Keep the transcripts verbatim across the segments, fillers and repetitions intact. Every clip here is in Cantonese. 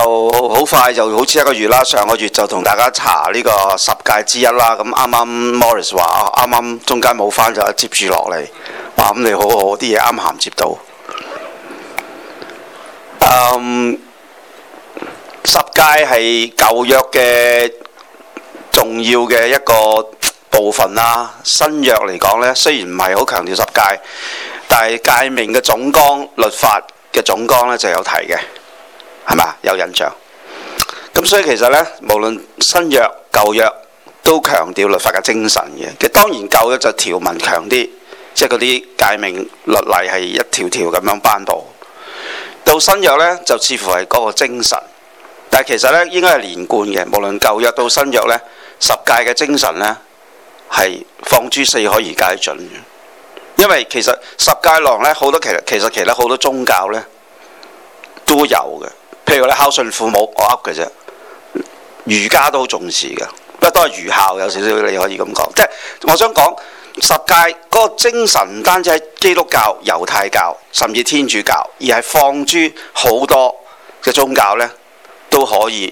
好快就好似一個月啦，上個月就同大家查呢個十誡之一啦。咁啱啱 Morris 話啱啱中間冇翻就接住落嚟，哇！咁你好好啲嘢啱銜接到。嗯，十誡係舊約嘅重要嘅一個部分啦。新約嚟講呢，雖然唔係好強調十誡，但係誡命嘅總綱、律法嘅總綱呢就有提嘅。係嘛？有印象。咁所以其實呢，無論新約舊約都強調律法嘅精神嘅。其實當然舊約就條文強啲，即係嗰啲誡命律例係一條條咁樣頒布。到新約呢，就似乎係嗰個精神，但係其實呢，應該係連貫嘅。無論舊約到新約呢，十誡嘅精神呢係放諸四海而皆準嘅。因為其實十誡內呢，好多其實其實其實好多宗教呢都有嘅。譬如你孝順父母，我噏嘅啫。儒家都好重視嘅，不過都係儒孝有少少，你可以咁講。即係我想講十誡嗰個精神唔單止喺基督教、猶太教，甚至天主教，而係放諸好多嘅宗教呢都可以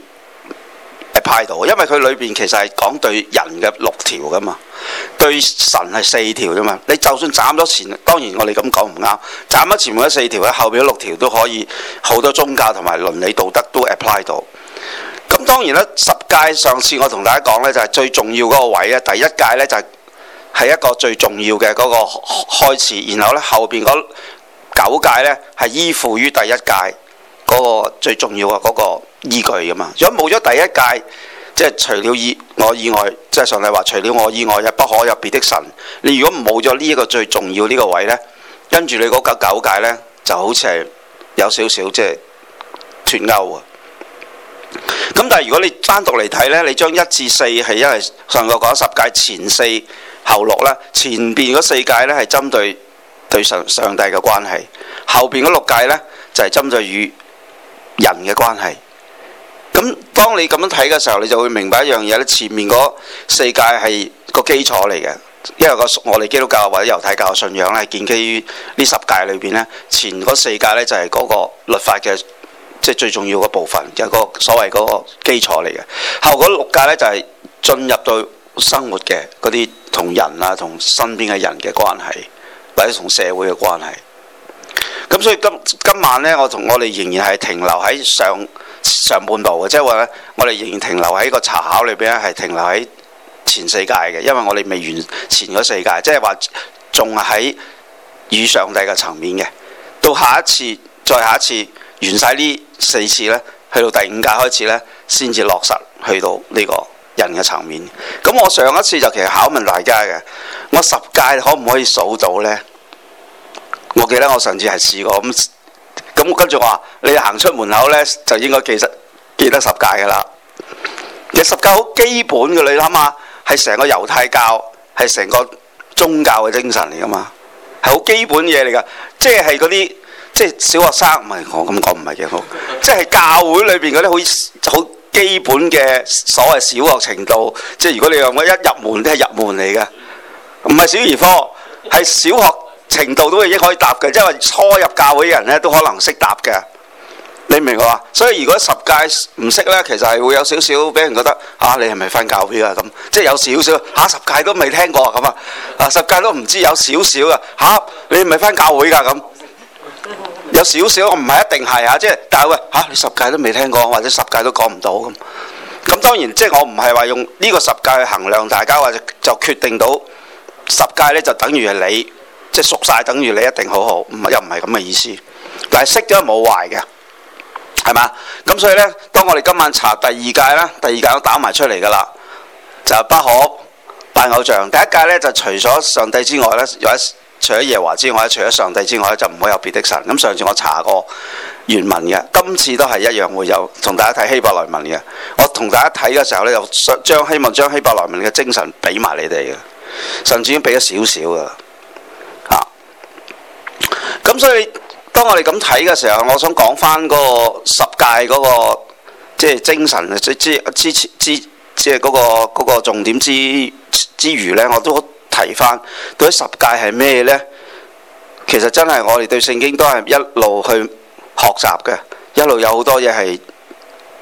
apply 到。因為佢裏邊其實係講對人嘅六條噶嘛，對神係四條啫嘛。你就算斬咗前，當然我哋咁講唔啱，斬咗前面嗰四條咧，後邊嗰六條都可以，好多宗教同埋倫理道德都 apply 到。咁當然啦，十誡上次我同大家講呢，就係最重要嗰個位咧，第一誡呢，就係係一個最重要嘅嗰個開始，然後呢，後邊嗰九誡呢，係依附於第一誡嗰個最重要嘅嗰個依據噶嘛。如果冇咗第一誡，即係除了以我以外，即係上帝話除了我以外，又不可有別的神。你如果冇咗呢一個最重要呢個位呢，跟住你嗰九九誡呢，就好似係有少少即係脫鈎啊。咁但係如果你單獨嚟睇呢，你將一至四係因為上個講十誡前四後六啦，前邊嗰四誡呢係針對對上上帝嘅關係，後邊嗰六誡呢就係針對與人嘅關係。咁當你咁樣睇嘅時候，你就會明白一樣嘢咧，前面嗰四誡係個基礎嚟嘅，因為個我哋基督教或者猶太教嘅信仰咧係建基於呢十誡裏邊呢，前嗰四誡呢就係嗰個律法嘅。即係最重要嘅部分，就係個所謂嗰個基礎嚟嘅。後嗰六誡呢，就係進入到生活嘅嗰啲同人啊、同身邊嘅人嘅關係，或者同社會嘅關係。咁所以今今晚呢，我同我哋仍然係停留喺上上半部嘅，即係話呢，我哋仍然停留喺個查考裏邊咧，係停留喺前四誡嘅，因為我哋未完前嗰四誡，即係話仲係喺與上帝嘅層面嘅。到下一次，再下一次。完晒呢四次呢，去到第五誡開始呢，先至落實去到呢個人嘅層面。咁我上一次就其實考問大家嘅，我十誡可唔可以數到呢？我記得我上次係試過咁，咁跟住我話你行出門口呢，就應該記得記得十誡㗎啦。其實十誡好基本嘅，你諗下係成個猶太教係成個宗教嘅精神嚟㗎嘛，係好基本嘢嚟㗎，即係係嗰啲。即係小學生，唔係我咁講唔係幾好，即係教會裏邊嗰啲好好基本嘅所謂小學程度。即係如果你用我一入門都係入門嚟嘅，唔係小兒科，係小學程度都已經可以答嘅，即係話初入教會嘅人咧都可能識答嘅。你明我話？所以如果十誡唔識咧，其實係會有少少俾人覺得嚇、啊、你係咪返教會啊咁？即係有少少嚇十誡都未聽過咁啊，啊十誡都唔知有少少啊嚇你係咪返教會㗎咁？有少少，我唔係一定係啊，即係但係喂嚇、啊，你十誡都未聽過，或者十誡都講唔到咁。咁當然即係我唔係話用呢個十誡去衡量大家，或者就決定到十誡呢就等於係你即係熟晒，等於你一定好好，唔係又唔係咁嘅意思。但係識咗冇壞嘅，係嘛？咁所以呢，當我哋今晚查第二誡啦，第二誡都打埋出嚟㗎啦，就不可拜偶像。第一誡呢，就除咗上帝之外呢，有一。除咗耶和華之外，除咗上帝之外，就唔會有別的神。咁上次我查過原文嘅，今次都係一樣會有同大家睇希伯來文嘅。我同大家睇嘅時候呢，就將希望將希伯來文嘅精神俾埋你哋嘅，甚至已經俾咗少少噶啦。啊，咁所以當我哋咁睇嘅時候，我想講翻嗰個十誡嗰個即係精神之之之之即係嗰個嗰個重點之之餘呢，我都。提翻到底十誡係咩呢？其實真係我哋對聖經都係一路去學習嘅，一路有好多嘢係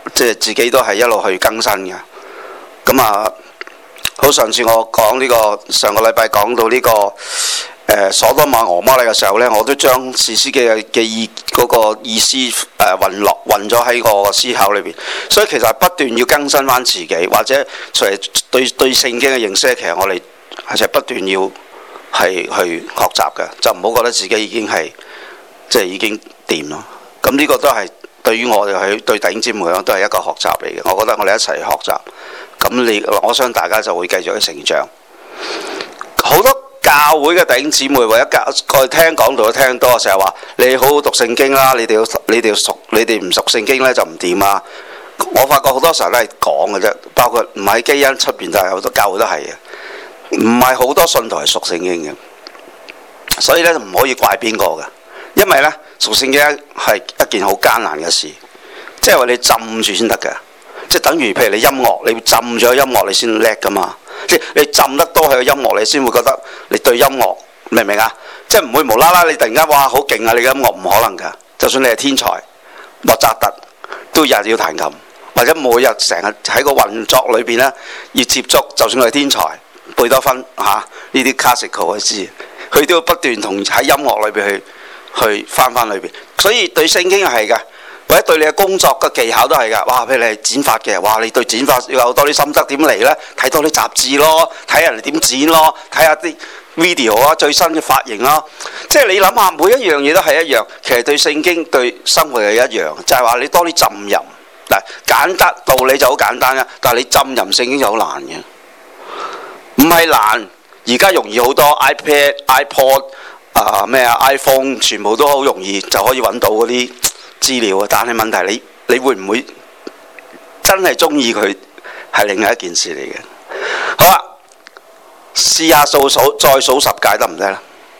即係自己都係一路去更新嘅。咁啊，好上次我講呢、這個上個禮拜講到呢、這個誒、呃、所多瑪俄摩拉嘅時候呢，我都將士師記嘅嘅意嗰、那個意思誒混落混咗喺個思考裏邊。所以其實不斷要更新翻自己，或者除係對對聖經嘅認識，其實我哋係不斷要係去學習嘅，就唔好覺得自己已經係即係已經掂咯。咁呢個都係對於我哋去對弟兄姊妹講都係一個學習嚟嘅。我覺得我哋一齊學習，咁你我相信大家就會繼續去成長。好多教會嘅弟兄姊妹或者教過去聽講道都聽多，成日話你好好讀聖經啦，你哋要你哋要熟，你哋唔熟聖經呢就唔掂啊！我發覺好多時候都係講嘅啫，包括唔喺基恩出邊都係好多教會都係嘅，唔係好多信徒係熟聖經嘅，所以呢唔可以怪邊個嘅。因為呢，熟聖經係一件好艱難嘅事，即係話你浸住先得嘅，即係等於譬如你音樂，你浸咗音樂你先叻噶嘛，即係你浸得多喺個音樂，你先會覺得你對音樂明唔明啊？即係唔會無啦啦你突然間哇好勁啊！你嘅音樂唔可能㗎，就算你係天才，莫扎特都日日要彈琴，或者每日成日喺個運作裏邊呢要接觸，就算佢係天才，貝多芬嚇呢啲 classical 嘅知，佢都要不斷同喺音樂裏邊去。去翻翻裏邊，所以對聖經係㗎，或者對你嘅工作嘅技巧都係㗎。哇，譬如你係剪髮嘅，哇，你對剪髮要有多啲心得點嚟呢？睇多啲雜誌咯，睇人哋點剪咯，睇下啲 video 啊，最新嘅髮型啦。即係你諗下，每一樣嘢都係一樣。其實對聖經對生活係一樣，就係話你多啲浸淫。嗱，簡單道理就好簡單啦，但係你浸淫聖經就好難嘅。唔係難，而家容易好多 iPad、iPod。啊咩啊 iPhone 全部都好容易就可以揾到嗰啲資料啊，但係問題你你會唔會真係中意佢係另外一件事嚟嘅。好啦，試下數數再數十誡得唔得咧？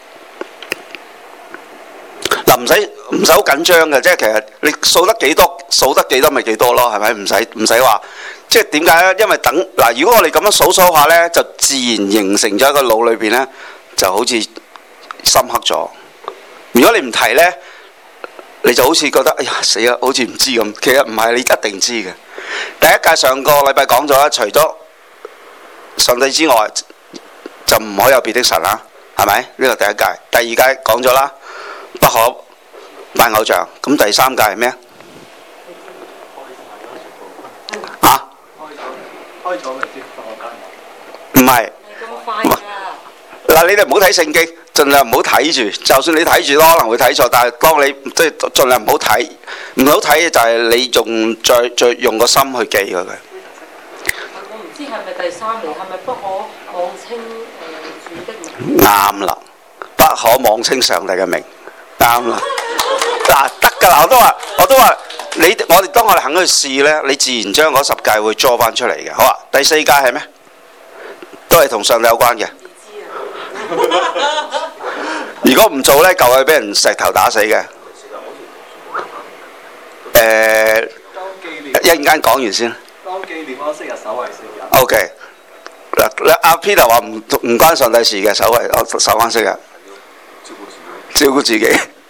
嗱，唔使唔使好緊張嘅，即係其實你數得幾多數得幾多咪幾多咯，係咪？唔使唔使話，即係點解咧？因為等嗱，如果我哋咁樣數數下呢，就自然形成咗一個腦裏邊呢，就好似深刻咗。如果你唔提呢，你就好似覺得哎呀死啦，好似唔知咁。其實唔係，你一定知嘅。第一誡上個禮拜講咗啦，除咗上帝之外，就唔可以有別的神啦，係咪？呢個第一誡。第二誡講咗啦，不可拜偶像。咁第三誡係咩啊？啊？開咗未先？唔係。嗱，你哋唔好睇聖經，盡量唔好睇住。就算你睇住都可能會睇錯，但係當你即係盡量唔好睇，唔好睇嘅就係你用再再用個心去記佢。我唔知係咪第三條，係咪不可妄稱誒主的名？啱啦，不可妄稱上帝嘅名，啱啦。嗱，得㗎啦，我都話，我都話你，我哋當我哋肯去試咧，你自然將嗰十誡會抓翻出嚟嘅。好啊，第四誡係咩？都係同上帝有關嘅。如果唔做呢，舊係俾人石頭打死嘅。誒、呃，一陣間講完先。當紀念安息日，守為聖日。O K。嗱，阿 Peter 話唔唔關上帝事嘅，守為守安息日。照顧自己。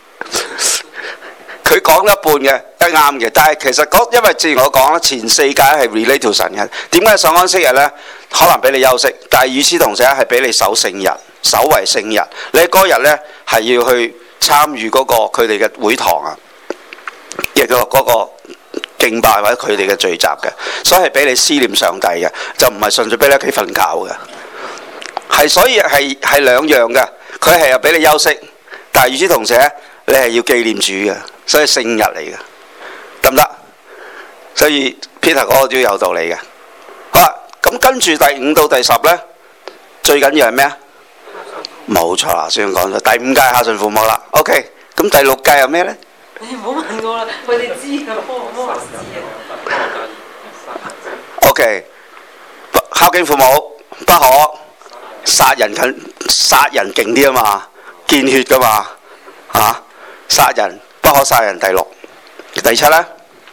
佢講一半嘅，一啱嘅，但係其實因為正如我講啦，前四誡係 relate to 神嘅。點解守安息日呢？可能俾你休息，但係與此同時係俾你守聖日。守為聖日，你嗰日呢係要去參與嗰個佢哋嘅會堂啊，亦個嗰個敬拜或者佢哋嘅聚集嘅，所以係俾你思念上帝嘅，就唔係順住俾你屋企瞓覺嘅，係所以係係兩樣嘅，佢係又俾你休息，但係與此同時呢，你係要紀念主嘅，所以聖日嚟嘅，得唔得？所以 Peter 嗰個都有道理嘅。好啦，咁跟住第五到第十呢，最緊要係咩啊？冇錯啦，先講咗第五誡孝順父母啦。OK，咁第六誡係咩呢？你唔好問我啦，佢哋知㗎，幫我幫我知啊。OK，孝敬父母，不可殺人近殺人勁啲啊嘛，見血㗎嘛嚇、啊，殺人不可殺人。第六，第七呢？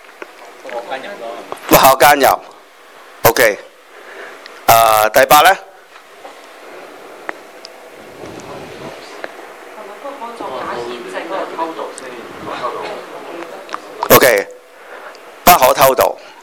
不可奸淫。OK，誒、呃、第八呢？O.K. 不可偷盜。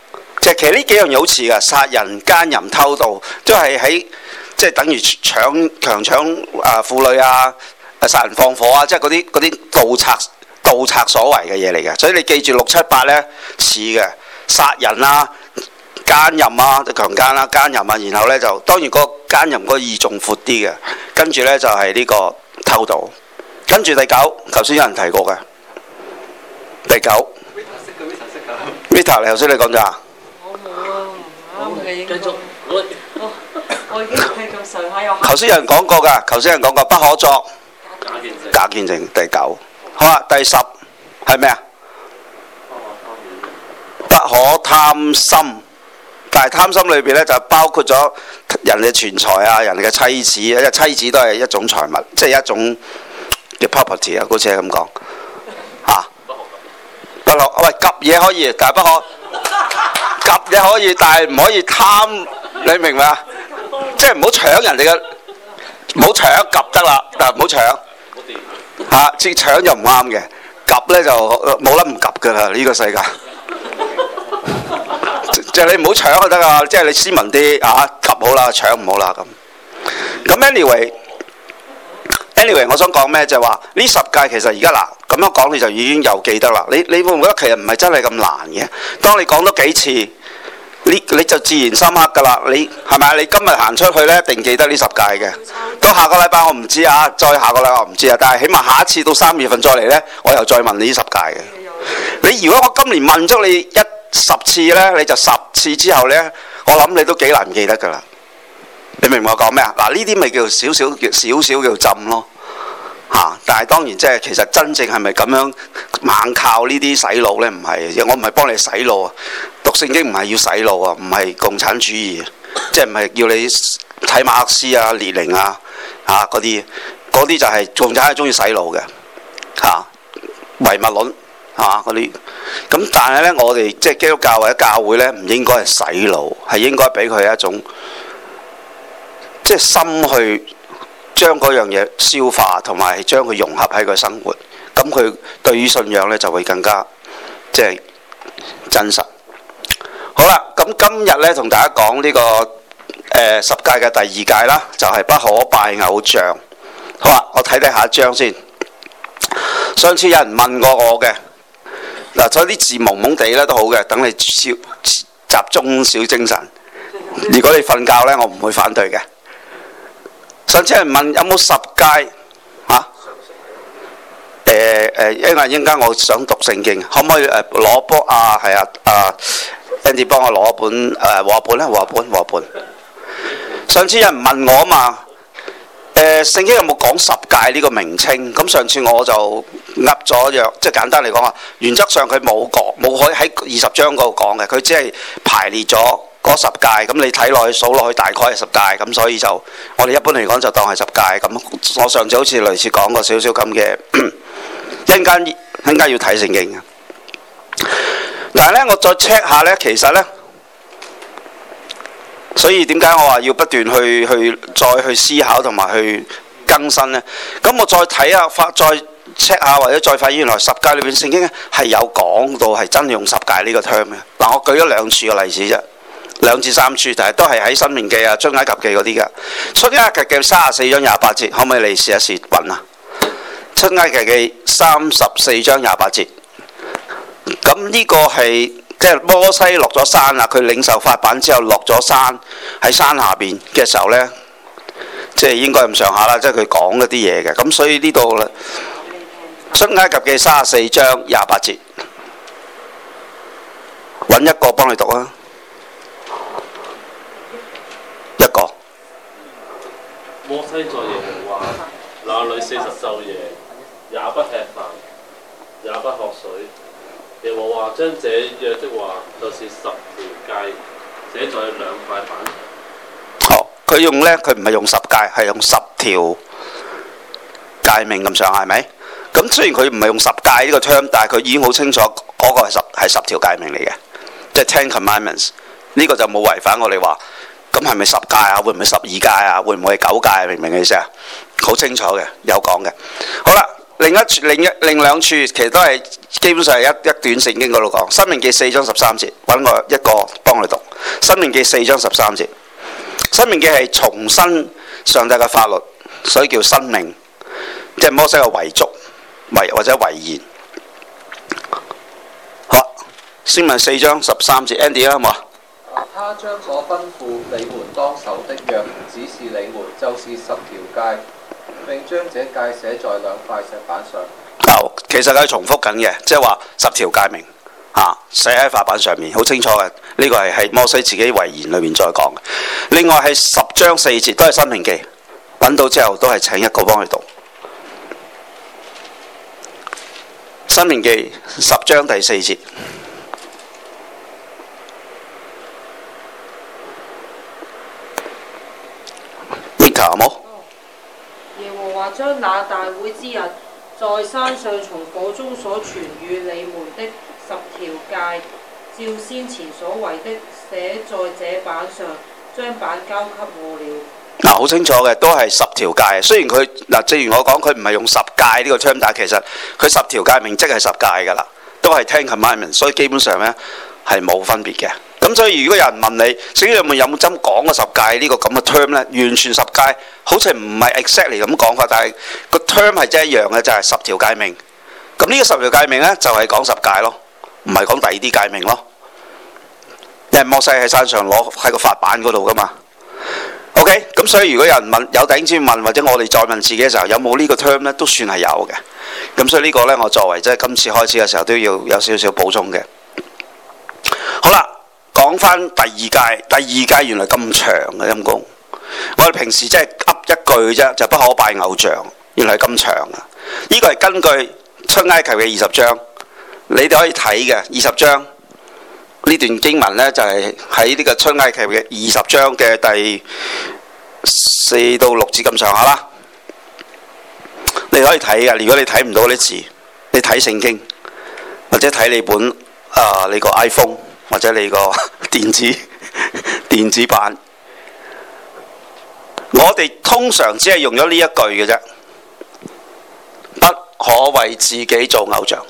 就其實呢幾樣嘢好似㗎，殺人、奸淫、偷盜，都係喺即係等於搶強搶啊婦女啊、殺人放火啊，即係嗰啲嗰啲盜賊盜賊所為嘅嘢嚟嘅。所以你記住六七八呢似嘅殺人啊、奸淫啊、強姦啦、奸淫啊，然後呢，就當然嗰個奸淫嗰個義仲闊啲嘅，跟住呢，就係、是、呢個偷盜，跟住第九，頭先有人提過嘅第九。Vita， 你頭先你講咗啊？ 我冇啊，唔啱嘅應該。繼續，我我已經繼續上下又。頭先有人講過㗎，頭先有人講過不可作假見證。 假見證第九，好啦，第十係咩啊？不可貪心，但係貪心裏邊咧就包括咗人嘅錢財啊，人哋嘅妻子，因為妻子都係一種財物，即係一種嘅 property 啊，好似係咁講嚇。不可喂，及嘢可以，但係不可及嘢可以，但係唔可以貪，你明唔明啊？即係唔好搶人哋嘅，唔好搶及得啦，但係唔好搶嚇，即係搶就唔啱嘅，及咧就冇得唔及㗎啦，呢個世界。即係你唔好搶就得㗎，即係你斯文啲啊，及好啦，搶唔好啦咁。咁 anyway。Anyway， 我想講咩就係話呢十戒其實而家嗱咁樣講你就已經有記得啦。你你會唔會覺得其實唔係真係咁難嘅？當你講多幾次，你你就自然深刻㗎啦。你係咪啊？你今日行出去呢，一定記得呢十戒嘅。到下個禮拜我唔知啊，再下個禮拜我唔知啊。但係起碼下一次到三月份再嚟呢，我又再問你呢十戒嘅。你如果我今年問足你一十次呢，你就十次之後呢，我諗你都幾難記得㗎啦。你明唔明我講咩啊？嗱，呢啲咪叫少少叫少少叫浸咯嚇、啊，但係當然即係其實真正係咪咁樣猛靠呢啲洗腦呢？唔係，我唔係幫你洗腦啊！讀聖經唔係要洗腦啊，唔係共產主義，即係唔係要你睇馬克思啊、列寧啊嚇嗰啲，嗰啲就係共產係中意洗腦嘅嚇，唯物論係嘛嗰啲。咁但係呢，我哋即係基督教或者教會呢，唔應該係洗腦，係應該俾佢一種。即係心去將嗰樣嘢消化，同埋將佢融合喺佢生活，咁佢對於信仰呢就會更加即係真實。好啦，咁今日呢，同大家講呢、這個誒、呃、十戒嘅第二戒啦，就係、是、不可拜偶像。好啦，我睇睇下一章先。上次有人問過我嘅嗱，所以啲字蒙蒙地咧都好嘅，等你少集中少精神。如果你瞓覺呢，我唔會反對嘅。上次有人問有冇十戒嚇？誒誒，因為陣間我想讀聖經，可唔可以誒攞波啊？係啊啊 Andy 幫我攞本誒和合本咧，和合本和合本。上次有人問我啊嘛，誒聖經有冇講十戒呢個名稱？咁上次我就噏咗約，即係簡單嚟講啊，原則上佢冇講，冇可以喺二十章嗰度講嘅，佢只係排列咗。嗰十戒咁你睇落去數落去大概係十戒咁，所以就我哋一般嚟講就當係十戒咁。我上次好似類似講過少少咁嘅，一陣間一陣間要睇聖經嘅。但係呢，我再 check 下呢，其實呢，所以點解我話要不斷去去再去思考同埋去更新呢？咁我再睇下發再 check 下或者再發現原來十戒裏邊聖經係有講到係真用十戒呢個 term 嘅。嗱，我舉咗兩處嘅例子啫。兩至三處，但係都係喺《申命記》啊、《出埃及記》嗰啲㗎。《出埃及記》三十四章廿八節，可唔可以你試一試揾啊？《出埃及記》三十四章廿八節，咁呢個係即係摩西落咗山啦，佢領受法版之後落咗山，喺山下邊嘅時候呢，即係應該咁上下啦，即係佢講一啲嘢嘅。咁所以呢度咧，《出埃及記》三十四章廿八節，揾一個幫你讀啊！一個。 摩西在耶和華那裏四十晝夜，也不吃飯，也不喝水。耶和華將這約的話，就是十條戒，寫在兩塊板上。 好，佢用呢，佢唔係用十戒，係用十條誡命咁上下，係咪？咁雖然佢唔係用十戒呢個 term，但係佢已經好清楚嗰個係十係十條誡命嚟嘅，即係 Ten Commandments。呢個就冇違反我哋話。咁係咪十戒啊？會唔會十二戒啊？會唔會係九戒啊？明唔明嘅意思啊？好清楚嘅，有講嘅。好啦， 另一另一另兩處其實都係基本上係一一段聖經嗰度講，《申命記》四章十三節，揾我一個幫你讀，《申命記》四章十三節，《申命記》係重申上帝嘅法律，所以叫申命，即係摩西嘅遺囑、遺或者遺言。好，先問四章十三節 ，Andy 啦，好冇？ 他將所吩咐你們當守的約指示你們，就是十條誡，並將這誡寫在兩塊石板上。 哦，其實佢係重複緊嘅，即係話十條誡命嚇寫喺法板上面，好清楚嘅。呢個係係摩西自己遺言裏面再講嘅。另外係十章四節都係申命記，揾到之後都係請一個幫佢讀。申命記十章第四節。有冇？ 耶和華將那大會之日，在山上從火中所傳與你們的十條誡，照先前所為的寫在這板上，將板交給我了。 嗱，好清楚嘅，都係十條誡。雖然佢嗱，正如我講，佢唔係用十誡呢個 term，但係其實佢十條誡命即係十誡㗎啦，都係 Ten Commandments，所以基本上呢係冇分別嘅。咁所以如果有人問你，聖經有冇有冇真講過十誡呢個咁嘅 term 呢？完全十誡好似唔係 exactly 咁講法，但係個 term 係真係一樣嘅，就係、是、十條誡命。咁呢個十條誡命呢，就係、是、講十誡咯，唔係講第二啲誡命咯。因為摩西喺山上攞喺個法版嗰度噶嘛。OK， 咁所以如果有人問，有弟兄姊妹問，或者我哋再問自己嘅時候，有冇呢個 term 呢？都算係有嘅。咁所以呢個呢，我作為即係今次開始嘅時候都要有少少補充嘅。好啦。講翻第二誡，第二誡原來咁長嘅陰公，我哋平時即係噏一句啫，就不可拜偶像，原來係咁長啊！呢個係根據出埃及嘅二十章，你哋可以睇嘅二十章呢段經文呢，就係喺呢個出埃及嘅二十章嘅第四到六節咁上下啦。你可以睇嘅，如果你睇唔到啲字，你睇聖經或者睇你本啊、呃、你個 iPhone。或者你個電子電子版，我哋通常只係用咗呢一句嘅啫，不可為自己做偶像。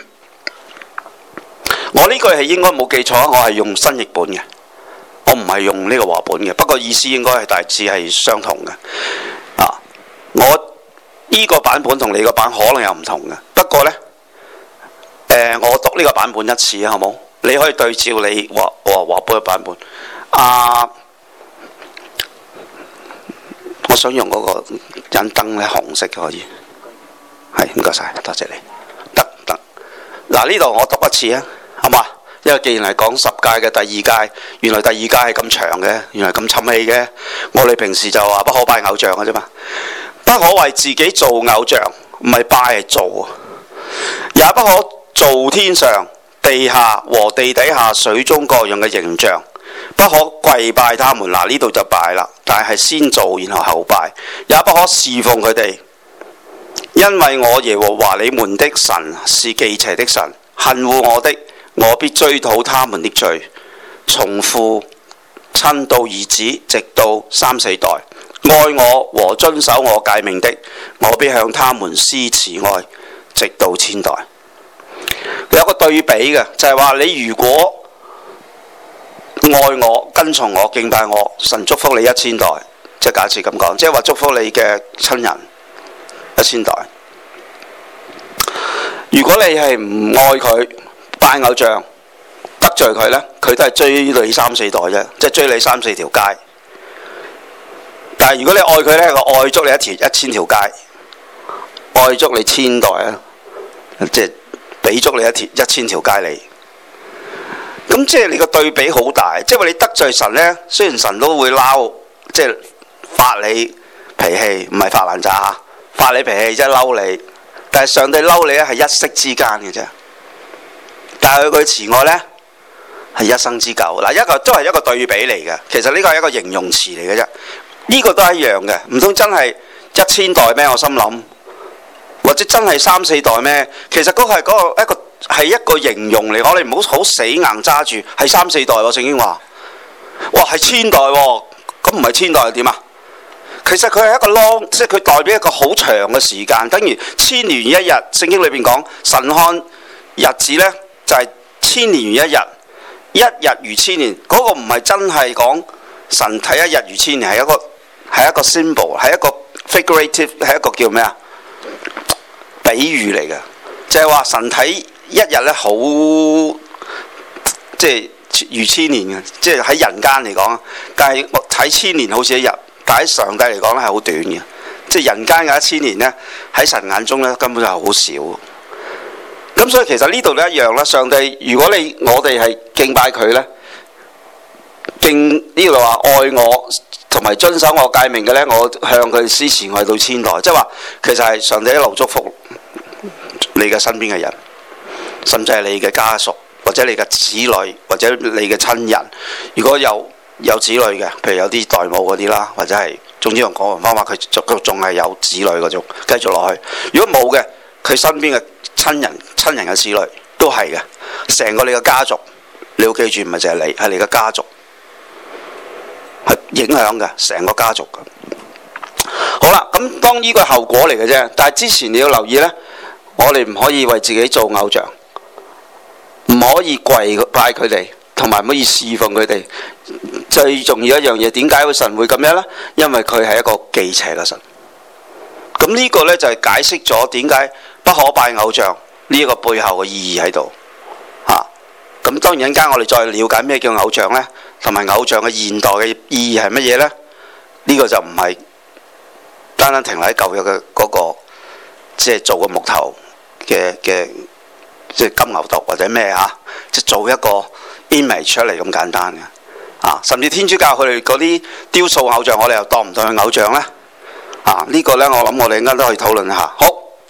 我呢句係應該冇記錯，我係用新譯本嘅，我唔係用呢個和本嘅。不過意思應該係大致係相同嘅。啊，我呢個版本同你個版可能有唔同嘅，不過呢，誒、呃，我讀呢個版本一次好冇？你可以對照你和和和本嘅版本。啊，我想用嗰個引燈咧，紅色嘅可以。係，唔該晒，多謝你。得得。嗱，呢度我讀一次啊，好嘛？因為既然係講十誡嘅第二誡，原來第二誡係咁長嘅，原來咁沉氣嘅。我哋平時就話不可拜偶像嘅啫嘛，不可為自己做偶像，唔係拜係做，也不可做天上、地下和地底下水中各樣嘅形象，不可跪拜他們。嗱，呢度就拜啦，但係先做然後後拜，也不可侍奉佢哋，因為我耶和華你們的神是忌邪的神，恨惡我的，我必追討他們的罪，從父親到兒子，直到三四代。愛我和遵守我誡命的，我必向他們施慈愛，直到千代。有個對比嘅，就係話你如果愛我、跟從我、敬拜我，神祝福你一千代，即係假設咁講，即係話祝福你嘅親人一千代。如果你係唔愛佢，拜偶像，得罪佢呢，佢都係追你三四代啫，即係追你三四條街。但係如果你愛佢呢，佢愛足你一條一千條街，愛足你千代啊，即係俾足你一條一千條街你。咁即係你個對比好大，即係話你得罪神呢，雖然神都會嬲，即係發你脾氣，唔係發爛渣嚇，發你脾氣即係嬲你。但係上帝嬲你咧係一息之間嘅啫，但係佢嘅慈愛呢，係一生之久。嗱，一個都係一個對比嚟嘅，其實呢個係一個形容詞嚟嘅啫。呢個都係一樣嘅，唔通真係一千代咩？我心諗，或者真係三四代咩？其實嗰個係嗰個一個係一個形容嚟，我哋唔好好死硬揸住係三四代喎。聖經話，哇係千代喎，咁唔係千代係點啊？ 其實佢係一個 long， 即係佢代表一個好長嘅時間，等於千年如一日。聖經裏邊講神看日子呢，就係、是、千年如一日，一日如千年。嗰、那個唔係真係講神睇一日如千年，係一個係一個 symbol， 係一個 figurative， 係一個叫咩啊？比喻嚟嘅，就係、是、話神睇一日呢，好即係如千年嘅，即係喺人間嚟講。但係我睇千年好似一日。但喺上帝嚟講咧係好短嘅，即係人間嘅一千年呢，喺神眼中咧根本就係好少。咁所以其實呢度都一樣啦。上帝如果你我哋係敬拜佢呢，敬呢度話愛我同埋遵守我誡命嘅呢，我向佢施慈愛到千代，即係話其實係上帝一路祝福你嘅身邊嘅人，甚至係你嘅家屬或者你嘅子女或者你嘅親人，如果有。有子女嘅，譬如有啲代母嗰啲啦，或者係總之用廣東話，佢佢仲係有子女嗰種，繼續落去。如果冇嘅，佢身邊嘅親人、親人嘅子女都係嘅，成個你嘅家族，你要記住，唔係淨係你，係你嘅家族，係影響嘅成個家族嘅。好啦，咁當呢個後果嚟嘅啫，但係之前你要留意呢，我哋唔可以為自己做偶像，唔可以跪拜佢哋。同埋唔可以侍奉佢哋，最重要一樣嘢，點解個神會咁樣呢？因為佢係一個忌邪嘅神。咁呢個呢，就係、是、解釋咗點解不可拜偶像呢一個背後嘅意義喺度嚇。咁、啊、當然一陣間我哋再了解咩叫偶像呢，同埋偶像嘅現代嘅意義係乜嘢呢？呢、這個就唔係單單停留喺舊約嘅嗰、那個，即係做個木頭嘅嘅，即係金牛犢或者咩嚇，即係做一個 image 出嚟咁簡單嘅，啊，甚至天主教佢哋嗰啲雕塑偶像，我哋又當唔當佢偶像呢？啊，呢、這個呢，我諗我哋應該都可以討論下。好，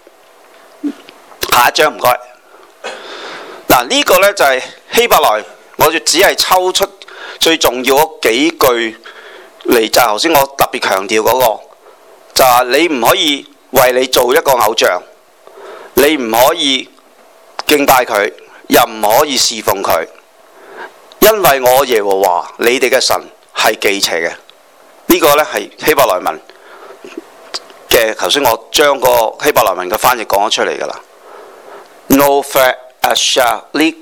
下一張唔該。嗱、啊，呢、這個呢，就係、是、希伯來，我就只係抽出最重要嗰幾句嚟，就係頭先我特別強調嗰、那個，就係、是、你唔可以為你做一個偶像，你唔可以敬拜佢，又唔可以侍奉佢。因為我耶和華你哋嘅神係忌邪嘅，呢、這個呢係希伯來文嘅。頭先我將個希伯來文嘅翻譯講咗出嚟㗎啦。No fat ashalik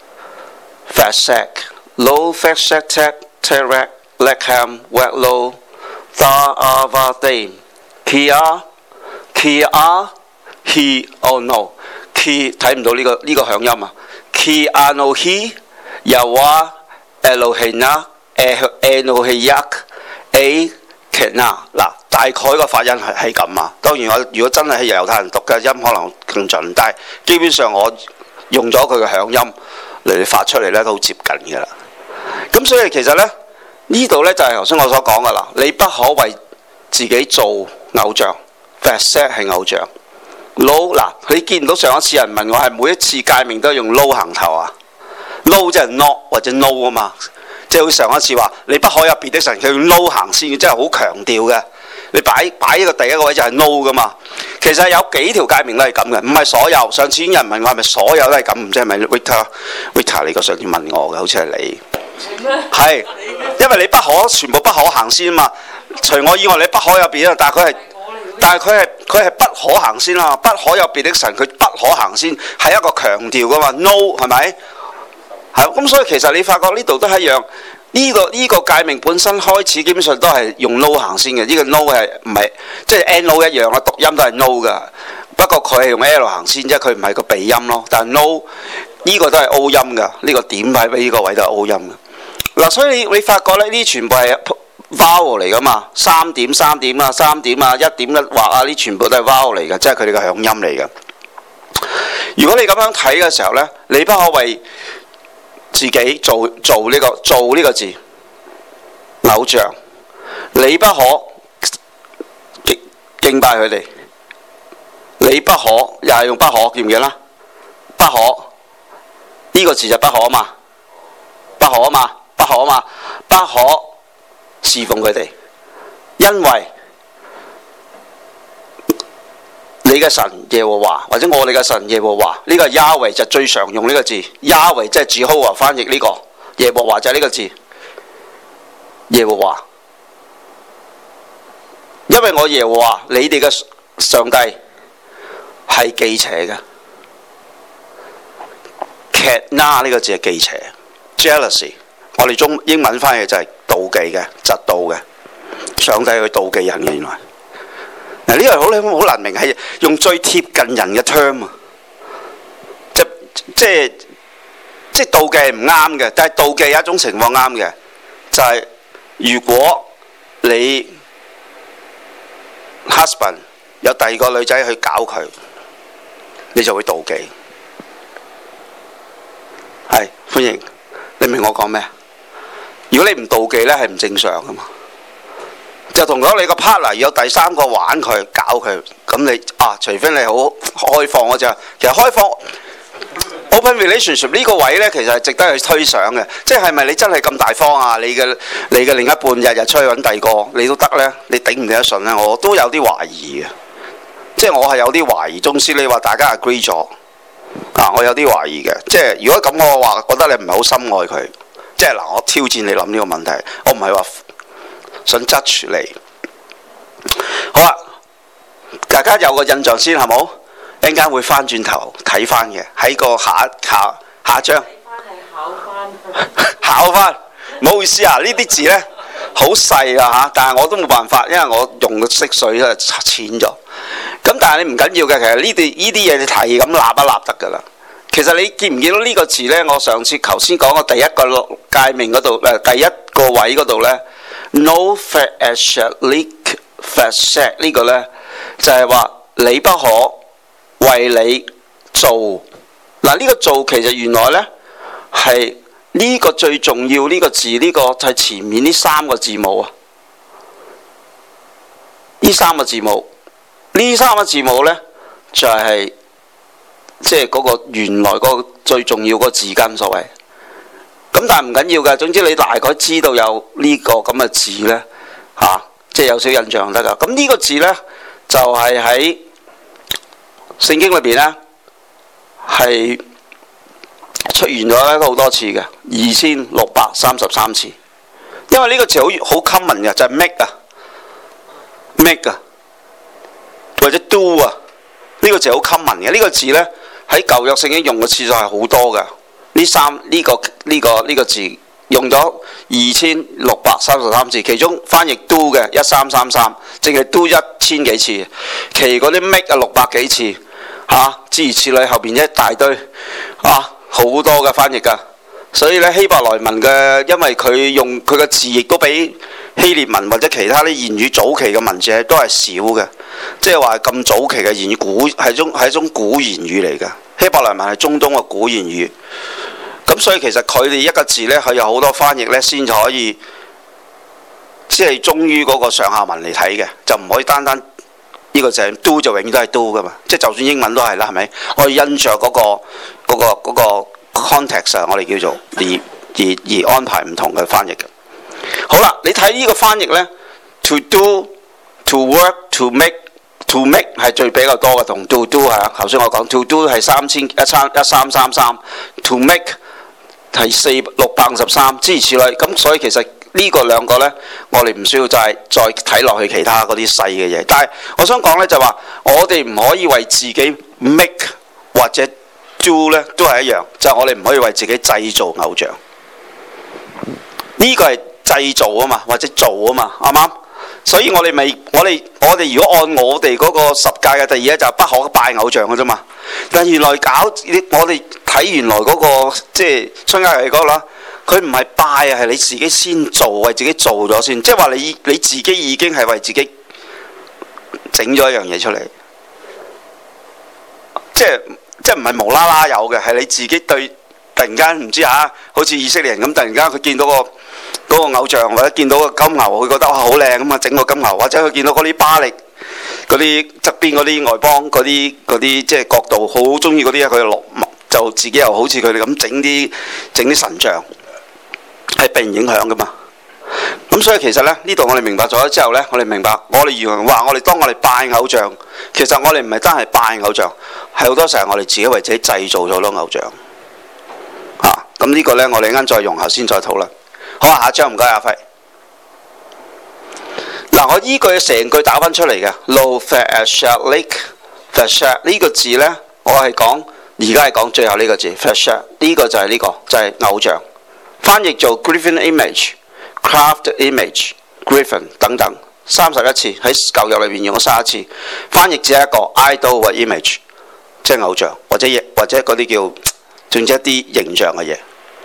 fasak lo fasak terak lekam wetlo tha avadim kia kia he oh no ki 睇唔到呢、這個呢、這個響音啊 ki ano he又話 Elohina Elohiyak A Kena 嗱，大概個發音係係咁啊。當然我如果真係係猶太人讀嘅音可能更準，但係基本上我用咗佢嘅響音嚟發出嚟咧都好接近嘅啦。咁所以其實咧呢度咧就係頭先我所講嘅啦，你不可為自己做偶像 ，Facet 係偶像。Lo 嗱，你見唔到上一次人問我係每一次誡命都係用 Lo 行頭啊？No 即係 not 或者 no 啊嘛，即係好似上一次話你不可有別的神，佢用 no 行先，即係好強調嘅。你擺擺一個第一個位就係 no 噶嘛。其實有幾條誡命都係咁嘅，唔係所有。上次有人問我係咪所有都係咁，唔知係咪 Victor Victor 你個上次問我嘅，好似係你。係，因為你不可全部不可行先啊嘛。除我以外你不可有別的，但係佢係但係佢係佢係不可行先啊嘛。不可有別的神，佢不可行先係一個強調噶嘛。No 係咪？係咁，所以其實你發覺呢度都係一樣，呢、這個呢、這個誡命本身開始基本上都係用 no 行先嘅。呢、這個 no 係唔係即係 n o 一樣啦，讀音都係 no 噶。不過佢係用 l 行先啫，佢唔係個鼻音咯。但係 no 呢個都係 o 音噶，呢、這個點喺呢個位都係 o 音嘅。嗱、啊，所以你你發覺咧，呢全部係 vowel 嚟噶嘛，三點三點啊，三點啊，一點一畫啊，呢全部都係 vowel 嚟嘅，即係佢哋嘅響音嚟嘅。如果你咁樣睇嘅時候咧，你不可為自己做做呢、這個做呢個字偶像，你不可敬敬拜佢哋，你不可又係用不可，記唔記得啦？不可呢、這個字就不可啊嘛，不可啊嘛，不可啊嘛，不可侍奉佢哋，因為你嘅神耶和華或者我哋嘅神耶和華，呢、這個 Yahweh 就最常用呢個字 ，Yahweh 即係 Jehovah 翻譯呢、這個耶和華就係呢個字耶和華，因因為我耶和華你哋嘅上帝係忌邪嘅。Ketna 呢個字係忌邪 ，jealousy， 我哋中英文翻譯就係妒忌嘅、嫉妒嘅。上帝去妒忌人嘅，原來嗱呢個好好難明，係用最貼近人嘅 term 啊，即即係即係妒忌係唔啱嘅，但係妒忌有一種情況啱嘅，就係、是、如果你 husband 有第二個女仔去搞佢，你就會妒忌。係歡迎，你明我講咩？如果你唔妒忌咧，係唔正常噶嘛。就同咗你個 partner 有第三個玩佢搞佢，咁你啊，除非你好開放嗰隻，其實開放 open relationship 呢個位呢，其實係值得去推想嘅。即係咪你真係咁大方啊？你嘅你嘅另一半日日出去揾第二個，你都得呢？你頂唔頂得順呢？我都有啲懷疑嘅，即係我係有啲懷疑。總之你話大家 agree 咗啊，我有啲懷疑嘅。即係如果咁我話，覺得你唔係好深愛佢。即係嗱，我挑戰你諗呢個問題，我唔係話想質住你。好啦，大家有個印象先係冇？一陣間會翻轉頭睇翻嘅，喺個下下下章。 考翻考翻，唔好意思啊！呢啲字呢，好細啊嚇，但係我都冇辦法，因為我用嘅色水咧淺咗。咁但係你唔緊要嘅，其實呢啲呢啲嘢你係咁立一立得㗎啦。其實你見唔見到呢個字呢？我上次頭先講嘅第一個界面嗰度，誒第一個位嗰度呢 no fashlik fashet 呢個呢，就係話你不可為你做。嗱呢個做其實原來呢係呢個最重要呢個字，呢個就係前面呢三個字母啊。呢三個字母，呢三個字母呢就係。即係嗰個原來嗰個最重要嗰個字根所謂，咁但係唔緊要嘅，總之你大概知道有呢個咁嘅字呢，嚇、啊，即係有少印象得㗎。咁呢個字呢，就係喺聖經裏邊呢，係出現咗好多次嘅，二千六百三十三次。因為呢個字好好 common 嘅，就係、是、make 啊 make 啊，或者 do 啊，呢、這個字好 common 嘅。呢、這個字呢。喺舊約聖經用嘅次數係好多㗎，呢三呢、這個呢、這個呢、這個字用咗二千六百三十三次，其中翻譯 do 嘅一三三三，淨係 do 一千幾次，其餘嗰啲 make 啊六百幾次，嚇、啊、諸如此類，後邊一大堆，啊好多嘅翻譯㗎，所以咧希伯來文嘅，因為佢用佢嘅字亦都比希臘文或者其他啲言語早期嘅文字都係少嘅。即係話咁早期嘅言語，古係種係一種古言語嚟嘅。希伯來文係中東嘅古言語，咁所以其實佢哋一個字呢，佢有好多翻譯呢，先至可以即係忠於嗰個上下文嚟睇嘅，就唔可以單單呢個字 do 就永遠都係 do 噶嘛。即係就算英文都係啦，係咪？我哋因着嗰個嗰個嗰個 context 啊，我哋叫做而而而安排唔同嘅翻譯嘅。好啦，你睇呢個翻譯呢 to do。To work, to make, to make 係最比較多嘅，同 to do 係啊。頭先我講 to do 係三千一三一三三三 ，to make 係四六百五十三，諸如此類。咁所以其實呢個兩個呢，我哋唔需要再再睇落去其他嗰啲細嘅嘢。但係我想講呢，就話，我哋唔可以為自己 make 或者 do 呢都係一樣，就係、我哋唔可以為自己製造偶像。呢、這個係製造啊嘛，或者做啊嘛，啱唔啱？所以我哋咪，我哋我哋如果按我哋嗰個十戒嘅第二咧，就係不可拜偶像嘅啫嘛。但原來搞我哋睇原來嗰、嗰個即係出埃及記嗰個啦，佢唔係拜啊，係你自己先做，為自己做咗先。即係話你你自己已經係為自己整咗一樣嘢出嚟，即係即係唔係無啦啦有嘅，係你自己對突然間唔知嚇，好似以色列人咁，突然間佢見到個。嗰個偶像或者見到個金牛，佢覺得哇好靚咁啊，整個金牛，或者佢見到嗰啲巴力嗰啲側邊嗰啲外邦嗰啲嗰啲即係角度好中意嗰啲，佢落就自己又好似佢哋咁整啲整啲神像，係被人影響噶嘛。咁所以其實咧呢度我哋明白咗之後咧，我哋明白我哋原來話我哋當我哋拜偶像，其實我哋唔係單係拜偶像，係好多時候我哋自己為自己製造咗好多偶像啊。咁呢個咧我哋啱再用後先再討論。好啊，下一張唔該阿輝。嗱， 嗱，我依句成句打翻出嚟嘅 Lo Fashalik Fashak 呢個字呢，我係講而家係講最後呢個字 Fashak 呢個就係呢、呢個就係、是、偶像，翻譯做 Griffin Image、Craft Image、Griffin 等等三十一次喺舊約裏邊用咗三十一次，翻譯只係一個 idol 或 image， 即係偶像或者或者嗰啲叫總之一啲形象嘅嘢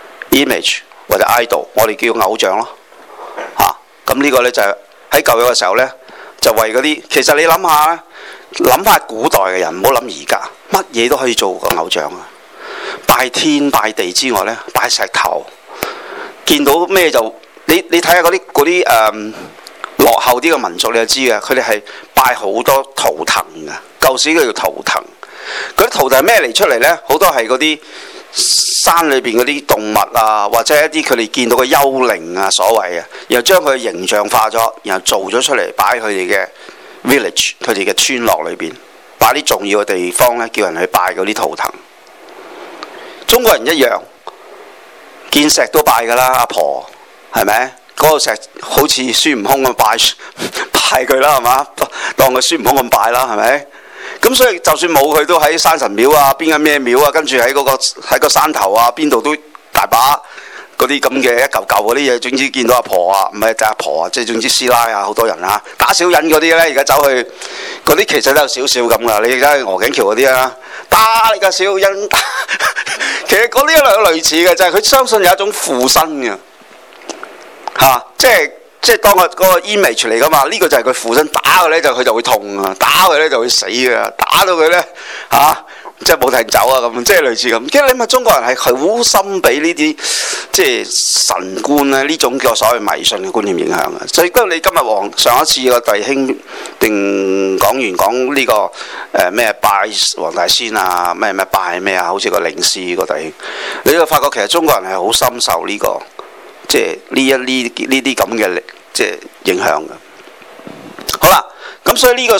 image 或者 idol， 我哋叫偶像咯嚇。咁、啊、呢個呢，就係、是、喺舊約嘅時候呢，就為嗰啲其實你諗下諗下古代嘅人，唔好諗而家乜嘢都可以做個偶像啊！拜天拜地之外呢，拜石頭，見到咩就你你睇下嗰啲嗰啲誒落後啲嘅民族，你就知嘅，佢哋係拜好多圖騰嘅。舊時叫做圖騰，嗰啲圖騰係咩嚟出嚟呢？好多係嗰啲山裏邊嗰啲動物啊，或者一啲佢哋見到嘅幽靈啊，所謂啊，然後將佢形象化咗，然後做咗出嚟擺佢哋嘅 village， 佢哋嘅村落裏邊，擺啲重要嘅地方呢，叫人去拜嗰啲圖騰。中國人一樣，見石都拜㗎啦，阿婆係咪？嗰、那個石好似孫悟空咁拜拜佢啦，係嘛？當佢孫悟空咁拜啦，係咪？咁所以就算冇佢，都喺山神廟啊，邊個咩廟啊，跟住喺嗰個喺個山頭啊，邊度都大把嗰啲咁嘅一嚿嚿嗰啲嘢。總之見到阿婆啊，唔係就阿婆啊，即係總之師奶啊，好多人啊，打小人嗰啲咧，而家走去嗰啲其實都有少少咁噶。你而家去鵝頸橋嗰啲啊，打你個小人，其實嗰啲係類似嘅，就係、是、佢相信有一種附身嘅嚇、啊，即係。即係當個嗰個 image 嚟噶嘛，呢、這個就係佢附身，打佢咧就佢就會痛啊，打佢咧就會死啊，打到佢咧嚇，即係冇停走啊咁，即係類似咁。其實你咪中國人係好深俾呢啲即係神觀咧呢種叫所謂迷信嘅觀念影響嘅。所以不過你今日黃上一次個弟兄定講完講呢、這個誒咩、呃、拜黃大仙啊，咩咩拜咩啊，好似個靈師個弟兄，你就發覺其實中國人係好深受呢、這個。即係呢一呢呢啲咁嘅即係影響嘅。好啦，咁所以呢、這個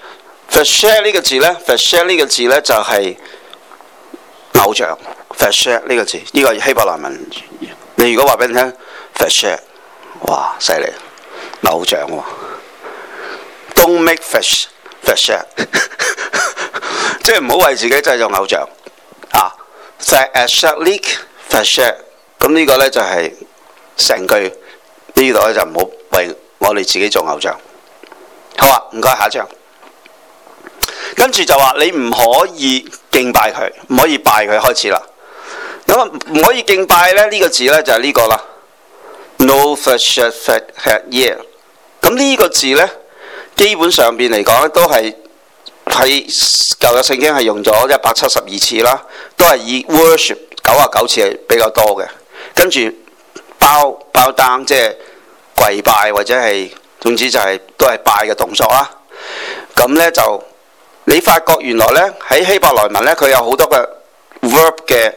Fashak 呢個字咧 Fashak 呢個字咧就係、是、偶像 Fashak 呢個字，呢、這個希伯來文。你如果話俾你聽 Fashak， 哇犀利，偶像喎、哦。Don't make Fash Fashak， 即係唔好為自己製造偶像啊。Fashalik Fashak， 咁呢個咧就係、是。成句呢度咧就唔好為我哋自己做偶像。好啊，唔該，下一張。跟住就話你唔可以敬拜佢，唔可以拜佢，開始啦。咁啊唔可以敬拜咧呢、這個字咧就係、是、呢個啦。No Fashak Fashak yeah。咁呢個字咧基本上邊嚟講咧都係喺舊約聖經係用咗一百七十二次啦，都係以 worship 九十九次係比較多嘅，跟住。包包單即係跪拜或者係總之就係、是、都係拜嘅動作啦。咁呢，就你發覺原來呢，喺希伯來文呢，佢有好多嘅 verb 嘅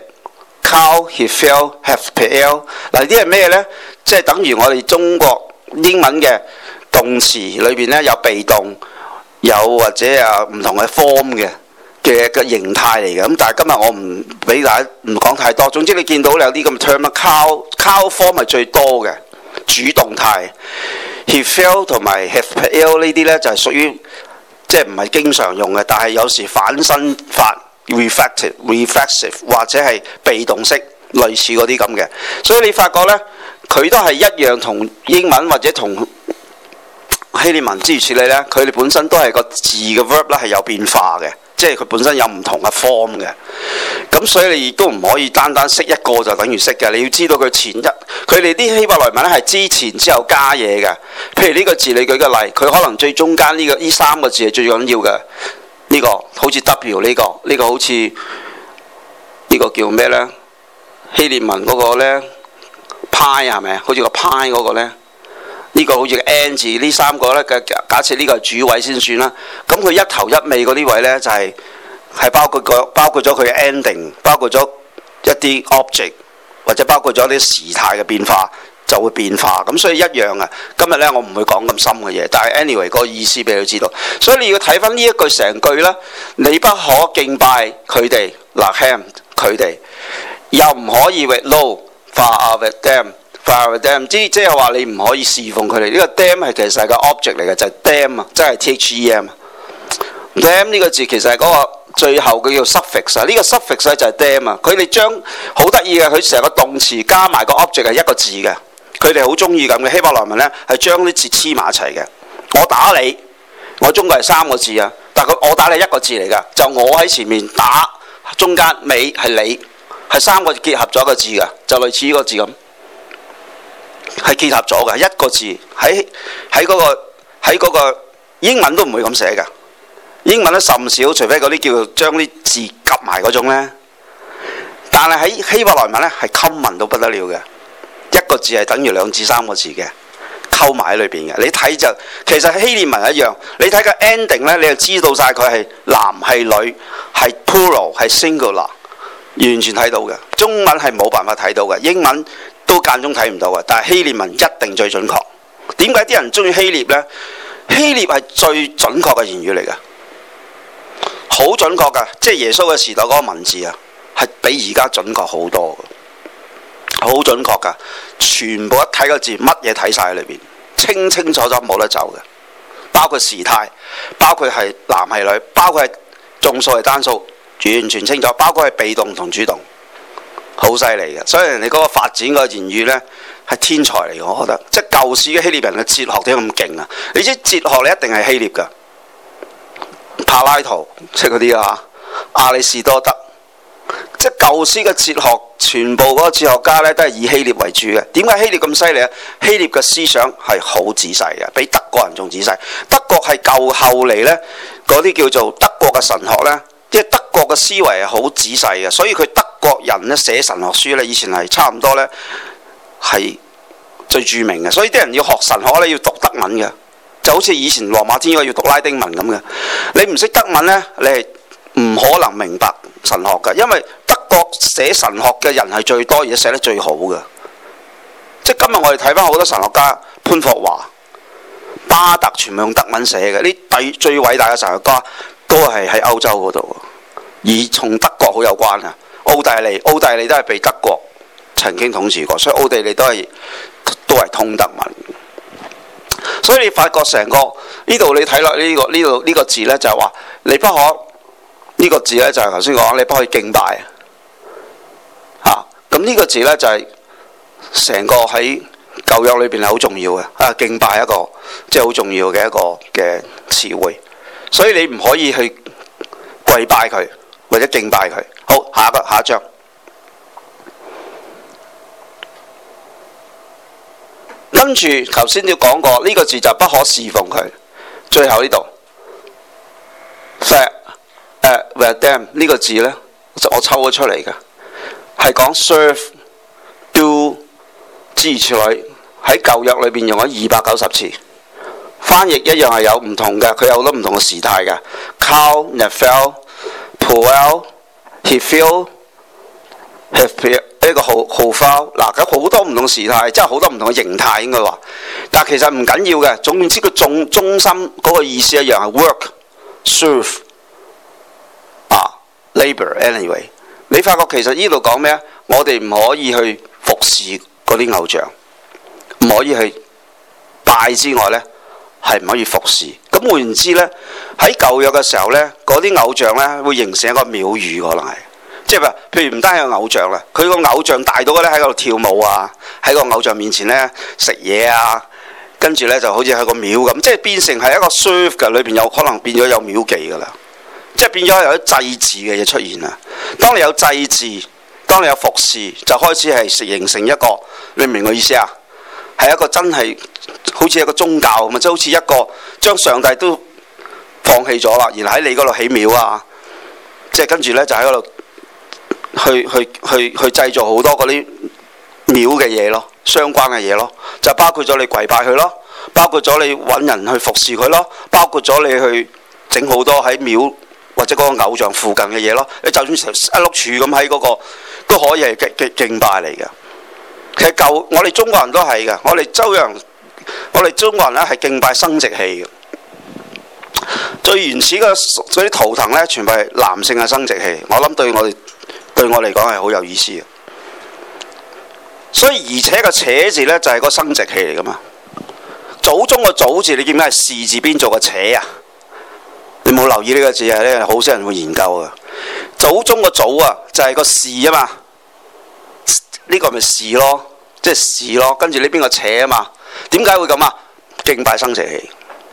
kal hifel hafpel 嗱，呢啲係咩呢？即係等於我哋中國英文嘅動詞裏邊呢，有被動有或者啊唔同嘅 form 嘅嘅嘅形態嚟嘅。咁但係今日我唔俾大家唔講太多。總之你見到有啲咁嘅 term 啊 ，cow cow form 係最多嘅主動態 ，hefel 同埋 hefel 呢啲咧就係屬於即係唔係經常用嘅，但係有時反身法 reflective reflexive 或者係被動式類似嗰啲咁嘅。所以你發覺咧，佢都係一樣同英文或者同希臘文之如此類咧，佢哋本身都係個字嘅 verb 咧係有變化嘅。即係佢本身有唔同嘅 form 嘅，咁所以你亦都唔可以單單識一個就等於識嘅，你要知道佢前一，佢哋啲希伯來文咧係之前之後加嘢嘅。譬如呢個字，你舉個例，佢可能最中間呢、這個呢三個字係最緊要嘅。呢、這個好似 W 呢、這個，呢、這個好似呢、這個叫咩呢？希臘文嗰個呢派係咪啊？好似個派嗰個呢。呢個好似個 N 字，呢三個呢，嘅假設呢個係主位先算啦。咁佢一頭一尾嗰啲位呢，就係、是、係包括個包括咗佢嘅 ending， 包括咗一啲 object 或者包括咗啲時態嘅變化就會變化。咁所以一樣啊。今日呢，我唔會講咁深嘅嘢，但係 anyway 個意思俾你知道。所以你要睇翻呢一句成句啦，你不可敬拜佢哋，嗱 ham 佢哋，又唔可以 with low far with them。 Fire Dam， 即即係話你唔可以侍奉佢哋。呢、這個 Dam 係其實係個 object 嚟嘅，就係、是、Dam 啊，即係 T H E M。Dam 呢個字其實係嗰個最後佢叫 suffix 啊，呢個 suffix 咧就係 Dam 啊。佢哋將好得意嘅，佢成個動詞加埋個 object 係一個字嘅。佢哋好中意咁嘅希伯來文咧，係將啲字黐埋一齊嘅。我打你，我中國係三個字啊，但係佢我打你一個字嚟㗎，就我喺前面打，中間尾係你，係三個結合咗一個字㗎，就類似呢個字咁。係結合咗嘅一個字，喺喺嗰個喺嗰個英文都唔會咁寫嘅，英文都甚少，除非嗰啲叫做將啲字夾埋嗰種呢。但係喺希伯來文呢，係溝文到不得了嘅，一個字係等於兩至三個字嘅，溝埋喺裏邊嘅。你睇就其實希臘文一樣，你睇個 ending 呢，你就知道晒佢係男係女，係 plural 係 singular， 完全睇到嘅。中文係冇辦法睇到嘅，英文都間中睇唔到嘅，但係希臘文一定最準確。點解啲人中意希臘呢？希臘係最準確嘅言語嚟嘅，好準確㗎，即係耶穌嘅時代嗰個文字啊，係比而家準確好多嘅，好準確㗎。全部一睇個字，乜嘢睇晒喺裏邊，清清楚楚冇得走嘅，包括時態，包括係男係女，包括係眾數係單數，完全清楚，包括係被動同主動。好犀利嘅，所以人哋嗰個發展個言語呢係天才嚟嘅，我覺得。即係舊時嘅希臘人嘅哲學點解咁勁啊？你知哲學你一定係希臘㗎，柏拉圖即係嗰啲啊，亞里士多德，即係舊時嘅哲學，全部嗰個哲學家呢都係以希臘為主嘅。點解希臘咁犀利啊？希臘嘅思想係好仔細嘅，比德國人仲仔細。德國係舊後嚟呢，嗰啲叫做德國嘅神學呢。即係德國嘅思維係好仔細嘅，所以佢德國人咧寫神學書咧，以前係差唔多咧係最著名嘅。所以啲人要學神學咧，要讀德文嘅，就好似以前羅馬天主教要讀拉丁文咁嘅。你唔識德文咧，你係唔可能明白神學嘅，因為德國寫神學嘅人係最多，而且寫得最好嘅。即係今日我哋睇翻好多神學家，潘霍華、巴特全部用德文寫嘅，呢第最偉大嘅神學家。都係喺歐洲嗰度，而從德國好有關啊！奧地利，奧地利都係被德國曾經統治過，所以奧地利都係都係通德文。所以你發覺成個呢度你睇落呢個呢度呢個字呢，就係話你不可呢、呢個字呢，就係頭先講你不可以敬拜啊！咁呢個字呢，就係、是、成個喺舊約裏邊係好重要嘅啊！敬拜一個即係好重要嘅一個嘅詞彙。所以你唔可以去跪拜佢或者敬拜佢。好，下一個下一章。跟住頭先都講過呢、這個字就不可侍奉佢。最後呢度 Vadam 呢個字呢，我抽咗出嚟嘅，係講 serve do 諸如此類，喺舊約裏邊用咗二百九十次。翻譯一樣係有唔同嘅，佢有好多唔同嘅時態嘅。Cal, Nephil, Puel, Hephil, Hephil 呢個號號號嗱，咁好多唔同時態，即係好多唔同嘅形態應該話。但係其實唔緊要嘅，總之個重中心嗰個意思一樣係 work, serve 啊 labour anyway。你發覺其實呢度講咩啊？我哋唔可以去服侍嗰啲偶像，唔可以去拜之外呢。係唔可以服侍。咁換言之呢，喺舊約嘅時候呢，嗰啲偶像呢會形成一個廟宇，可能係即係話，譬如唔單係個偶像啦，佢個偶像大到咧喺度跳舞啊，喺個偶像面前呢食嘢啊，跟住呢就好似喺個廟咁，即係變成係一個 serve 嘅裏邊有可能變咗有廟妓噶啦，即係變咗有啲祭祀嘅嘢出現啦。當你有祭祀，當你有服侍，就開始係形成一個，你明唔明我意思啊？係一個真係好似一個宗教咁啊，即係好似一個將上帝都放棄咗啦，然後喺你嗰度起廟啊，即係跟住呢，就喺嗰度去去去去製造好多嗰啲廟嘅嘢咯，相關嘅嘢咯，就包括咗你跪拜佢咯，包括咗你揾人去服侍佢咯，包括咗你去整好多喺廟或者嗰個偶像附近嘅嘢咯，你就算成一碌柱咁喺嗰個都可以係敬敬敬拜嚟嘅。其實舊我哋中國人都係嘅，我哋周洋，我哋中國人咧係敬拜生殖器嘅。最原始嘅嗰啲圖騰咧，全部係男性嘅生殖器。我諗對我哋對我嚟講係好有意思嘅。 所以而且個且字呢，就係個生殖器嚟噶嘛。祖宗個祖字你見唔見係士字邊做個且啊？你冇留意呢個字啊？呢好少人會研究啊。祖宗個祖啊就係個士啊嘛，呢個咪士咯，即係士咯。跟住呢邊個且啊嘛，點解會咁啊？敬拜生殖器。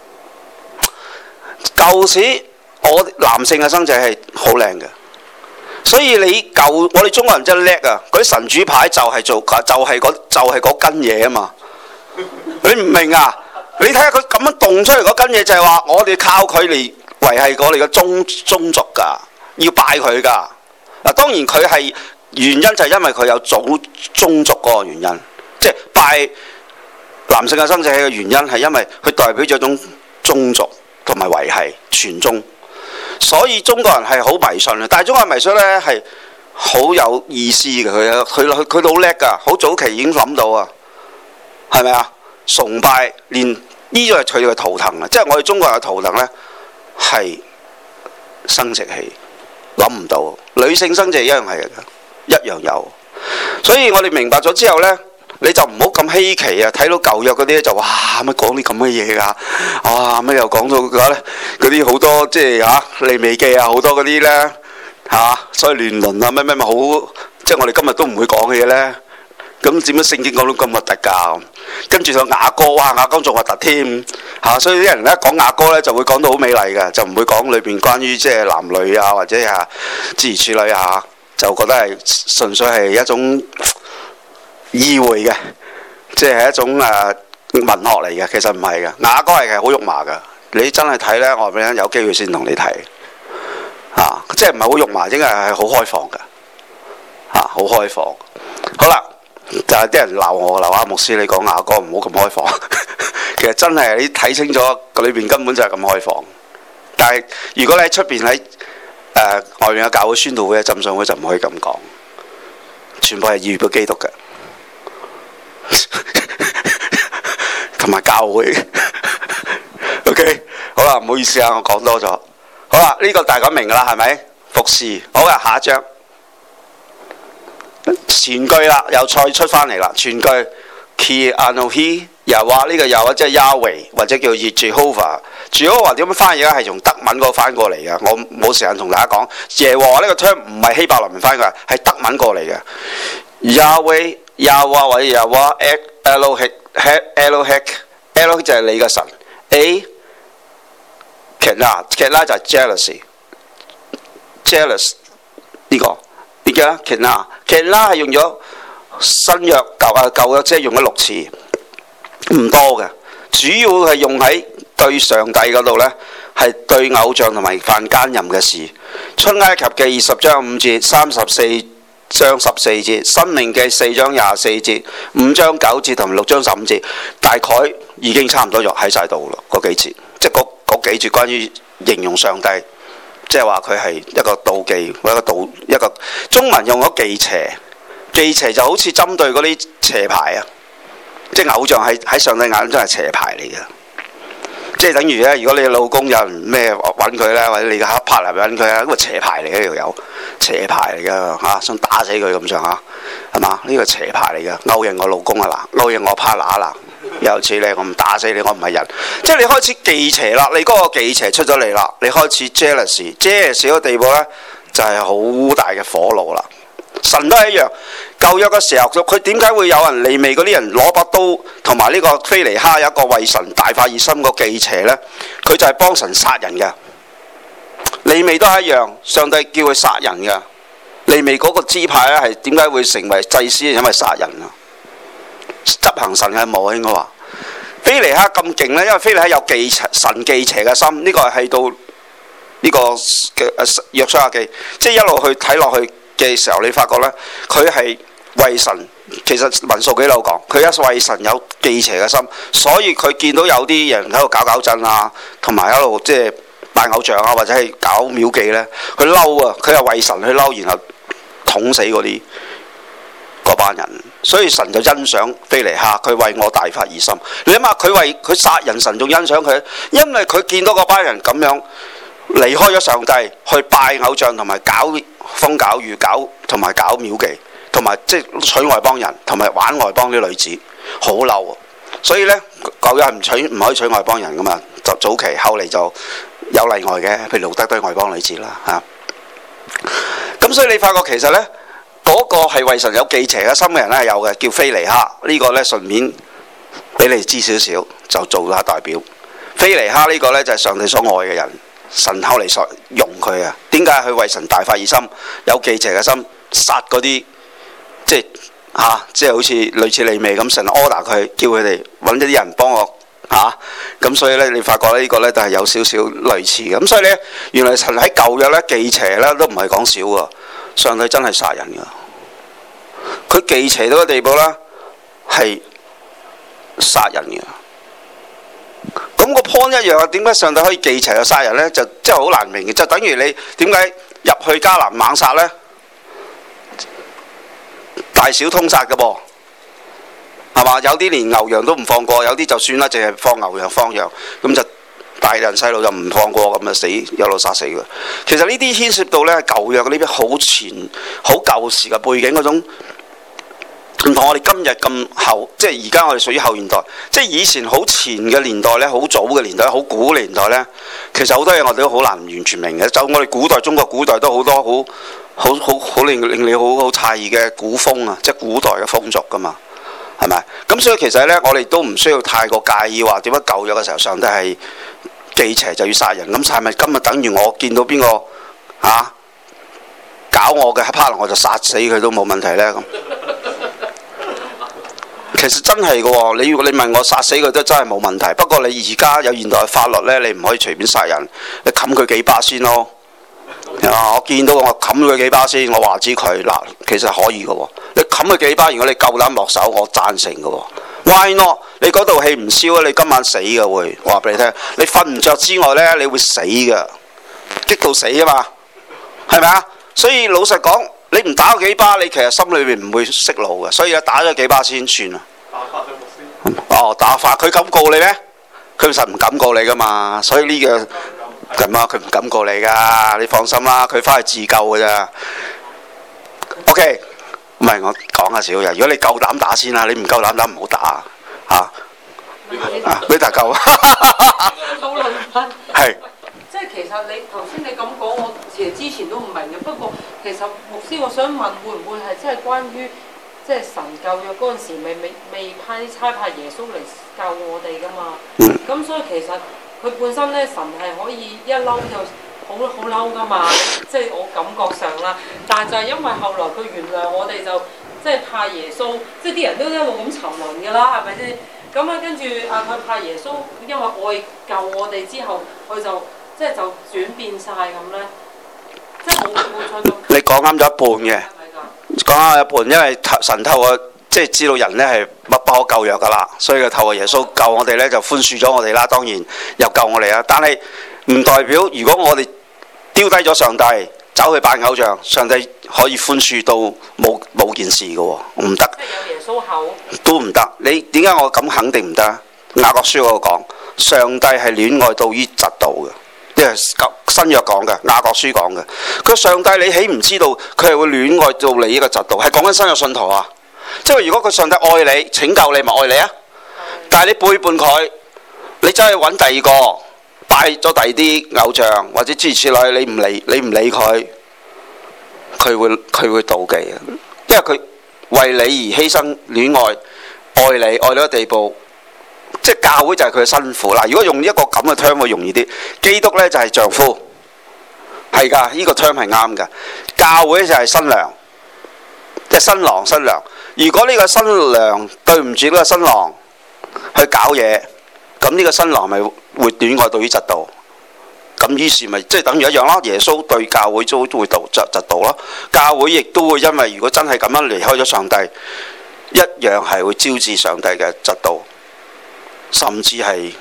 舊時我男性嘅生殖器好靚嘅。所以你舊我哋中國人真係叻啊！嗰啲神主牌就係做就係嗰就係嗰根嘢啊嘛！你唔明啊？你睇下佢咁樣動出嚟嗰根嘢，就係話我哋靠佢嚟維係我哋嘅宗宗族㗎，要拜佢㗎。嗱，當然佢係原因就係因為佢有祖宗族嗰個原因，即係拜男性嘅生殖器嘅原因係因為佢代表咗一種宗族同埋維係傳宗。所以中國人係好迷信嘅，但係中國人迷信呢係好有意思嘅，佢佢佢佢好叻㗎，好早期已經諗到啊，係咪啊？崇拜連呢個係佢哋嘅圖騰啊，即係我哋中國人嘅圖騰呢係生殖器，諗唔到女性生殖器一樣係一樣有，所以我哋明白咗之後呢，你就唔好咁稀奇啊！睇到舊約嗰啲就哇乜講啲咁嘅嘢㗎，哇乜又講到嗰嗰啲好多即係嚇利未記啊，好多嗰啲咧嚇，所以亂倫啊乜乜乜好，即係我哋今日都唔會講嘅嘢咧。咁點解聖經講到咁核突㗎？跟住就雅歌，哇雅歌仲核突添嚇，所以啲人咧講雅歌咧就會講到好美麗嘅，就唔會講裏邊關於即係男女啊或者啊諸如此類啊，就覺得係純粹係一種意會嘅，即係一種誒、呃、文學嚟嘅，其實唔係嘅。雅歌係係好肉麻嘅，你真係睇呢，我話俾你聽，有機會先同你睇嚇、啊，即係唔係好肉麻，應該係好開放嘅嚇，好、啊、開放。好啦，就係啲人鬧我鬧阿牧師，你講雅歌唔好咁開放。其實真係你睇清楚，裏邊根本就係咁開放。但係如果你喺出邊喺誒外面嘅教會宣道會、浸信會就唔可以咁講，全部係預表基督嘅。同埋教會，OK， 好啦，唔好意思啊，我講多咗。好啦，呢、這個大家明噶啦，係咪？服侍，好嘅，下一章前句啦，又再出翻嚟啦。前句 Ki Anohi 又話呢個又或者係 Yahweh 或者叫 Jehovah。Jehovah 點樣翻譯咧？係從德文嗰個翻過嚟嘅。我冇時間同大家講。耶和華呢個 term 唔係希伯來文翻過嚟，係德文過嚟嘅。Yahweh Yahweh 或者 Yahweh Elohim Elohim Elohim 就係你嘅神。A Kena Kena 就係 jealousy jealous 呢、這個點解 Kena Kena 係用咗新約舊啊舊約，即係用咗六次，唔多嘅，主要係用喺對上帝嗰度呢，係對偶像同埋犯奸淫嘅事。出埃及嘅二十章五節，三十四章十四節，申命記四章廿四節，五章九節同埋六章十五節，大概已經差唔多咗喺晒度咯。嗰幾節，即係嗰嗰幾節關於形容上帝，即係話佢係一個妒忌，或者一個妒一個中文用咗忌邪，忌邪就好似針對嗰啲邪牌啊，即係偶像係喺上帝眼中係邪牌嚟嘅。即係等於咧，如果你老公有人咩揾佢咧，或者你嘅黑 partner 揾佢啊，咁啊邪牌嚟嘅呢條友，邪牌嚟嘅嚇，想打死佢咁上下，係嘛？呢個邪牌嚟嘅，勾引我老公啊嗱，勾引我 partner 嗱，有似你，我唔打死你，我唔係人。即係你開始忌邪啦，你嗰個忌邪出咗嚟啦，你開始 jealous，jealous 嗰個地步咧，就係好大嘅火爐啦。神都係一樣，舊約嘅時候，佢點解會有人利未嗰啲人攞把刀同埋呢個非尼哈有一個為神大發熱心個忌邪呢？佢就係幫神殺人嘅。利未都係一樣，上帝叫佢殺人嘅。利未嗰個支派咧係點解會成為祭司？因為殺人啊，執行神嘅務應該話。非尼哈咁勁呢，因為非尼哈有忌神忌邪嘅心，呢、這個係到呢、這個嘅約書亞記，即係一路去睇落去嘅時候，你發覺呢，佢係為神，其實民數記都有講，佢一為神有忌邪嘅心，所以佢見到有啲人喺度搞搞震啊，同埋喺度即係拜偶像啊，或者係搞廟妓呢，佢嬲啊，佢係為神去嬲，然後捅死嗰啲嗰班人，所以神就欣賞非尼哈，佢為我大發熱心。你諗下，佢為佢殺人，神仲欣賞佢，因為佢見到嗰班人咁樣離開咗上帝，去拜偶像同埋搞風搞雨搞同埋搞廟妓， 同埋即係娶外邦人，同埋玩外邦啲女子，好嬲啊！所以呢，舊約係唔娶唔可以娶外邦人噶嘛，就早期，後嚟就有例外嘅，譬如路德都係外邦女子啦嚇。咁所以你發覺其實呢，嗰、那個係為神有忌邪嘅心嘅人咧係有嘅，叫非尼哈。呢、這個呢，順便俾你知少少，就做下代表。非尼哈呢個呢，就係、是、上帝所愛嘅人，神後嚟所用佢啊。點解佢為神大發熱心，有忌邪嘅心，殺嗰啲即係嚇、啊，即係好似類似利未咁，神 order 佢，叫佢哋揾一啲人幫我嚇。咁、啊、所以呢，你發覺呢個呢，就係有少少類似嘅。咁所以呢，原來神喺舊約呢，忌邪呢都唔係講少喎，上帝真係殺人㗎。佢忌邪到個地步呢，係殺人嘅。咁個 point 一樣啊，點解上帝可以忌邪又殺人呢？就真係好難明嘅，就等於你點解入去迦南猛殺呢？大小通殺嘅噃，係嘛？有啲連牛羊都唔放過，有啲就算啦，淨係放牛羊放羊，咁就大人細路就唔放過，咁就死一路殺死嘅。其實呢啲牽涉到呢舊約呢啲好前好舊時嘅背景嗰種。唔同我哋今日咁後，即係而家我哋屬於後現代，即係以前好前嘅年代呢，好早嘅年代，好古年代呢，其實好多嘢我哋都好難完全明嘅。就我哋古代中國古代都好多好好好好令令你好好詫異嘅古風啊，即係古代嘅風俗噶嘛，係咪？咁所以其實呢，我哋都唔需要太過介意話點解舊約嘅時候上帝係忌邪就要殺人，咁係咪今日等於我見到邊個啊搞我嘅 partner 我就殺死佢都冇問題呢？咁？其實真係嘅喎，你你問我殺死佢都真係冇問題。不過你而家有現代法律呢，你唔可以隨便殺人，你冚佢幾巴先咯。啊，我見到我冚佢幾巴先，我話知佢嗱，其實可以嘅喎。你冚佢幾巴，如果你夠膽落手，我贊成嘅喎。Why not？你嗰道氣唔燒啊，你今晚死嘅會，我話俾你聽。你瞓唔着之外呢，你會死嘅，激到死啊嘛，係咪啊？所以老實講，你唔打佢幾巴，你其實心裏面唔會息怒嘅。所以打咗幾巴先算啦。哦，打發佢敢告你咩？佢實唔敢告你噶嘛，所以呢、這個咁啊，佢唔敢告你噶，你放心啦，佢翻去自救噶咋。OK， 唔係我講下少嘢，如果你夠膽打先啦，你唔夠膽打唔好打嚇。啊，俾大嚿。 討論翻。 係。 即係其實你頭先你咁講，我其實之前都唔明嘅。不過其實牧師，我想問，會唔會係真係關於？即係神舊約嗰陣時，未未未派差派耶穌嚟救我哋噶嘛？咁、嗯、所以其實佢本身咧，神係可以一嬲就好好嬲噶嘛。即係我感覺上啦，但係就係因為後來佢原諒我哋，就即係派耶穌，即係啲人都一路咁沉淪㗎啦，係咪先？咁啊，跟住啊，佢派耶穌，因為愛救我哋之後，佢就即係就轉變晒咁咧，即係冇冇錯咁。你講啱咗一半嘅。講下一半，因為神透過即係知道人呢係不不可救藥噶啦，所以佢透過耶穌救我哋呢，就寬恕咗我哋啦。當然又救我哋啦，但係唔代表如果我哋丟低咗上帝，走去拜偶像，上帝可以寬恕到冇冇件事嘅喎，唔得。即係有耶穌口都唔得。你點解我咁肯定唔得？雅各書嗰個講，上帝係戀愛到於嫉妒嘅。即係新約講嘅，雅各書講嘅。佢上帝你豈唔知道佢係會戀愛到你呢個嫉妒？係講緊新約信徒啊！即係如果佢上帝愛你拯救你，咪愛你啊！但係你背叛佢，你走去揾第二個拜咗第二啲偶像或者諸如此類，你唔理你唔理佢，佢會佢會妒忌啊！因為佢為你而犧牲戀愛，愛你愛到個地步。即係教會就係佢嘅新婦嗱，如果用一個咁嘅 term 會容易啲。基督呢就係丈夫，係㗎，呢、這個 term 係啱㗎。教會就係新娘，即係新郎新娘。如果呢個新娘對唔住呢個新郎去搞嘢，咁呢個新郎咪會戀愛到於嫉妒。咁於是咪即係等於一樣咯。耶穌對教會都都會妒嫉嫉妒咯。教會亦都會因為如果真係咁樣離開咗上帝，一樣係會招致上帝嘅嫉妒。甚至係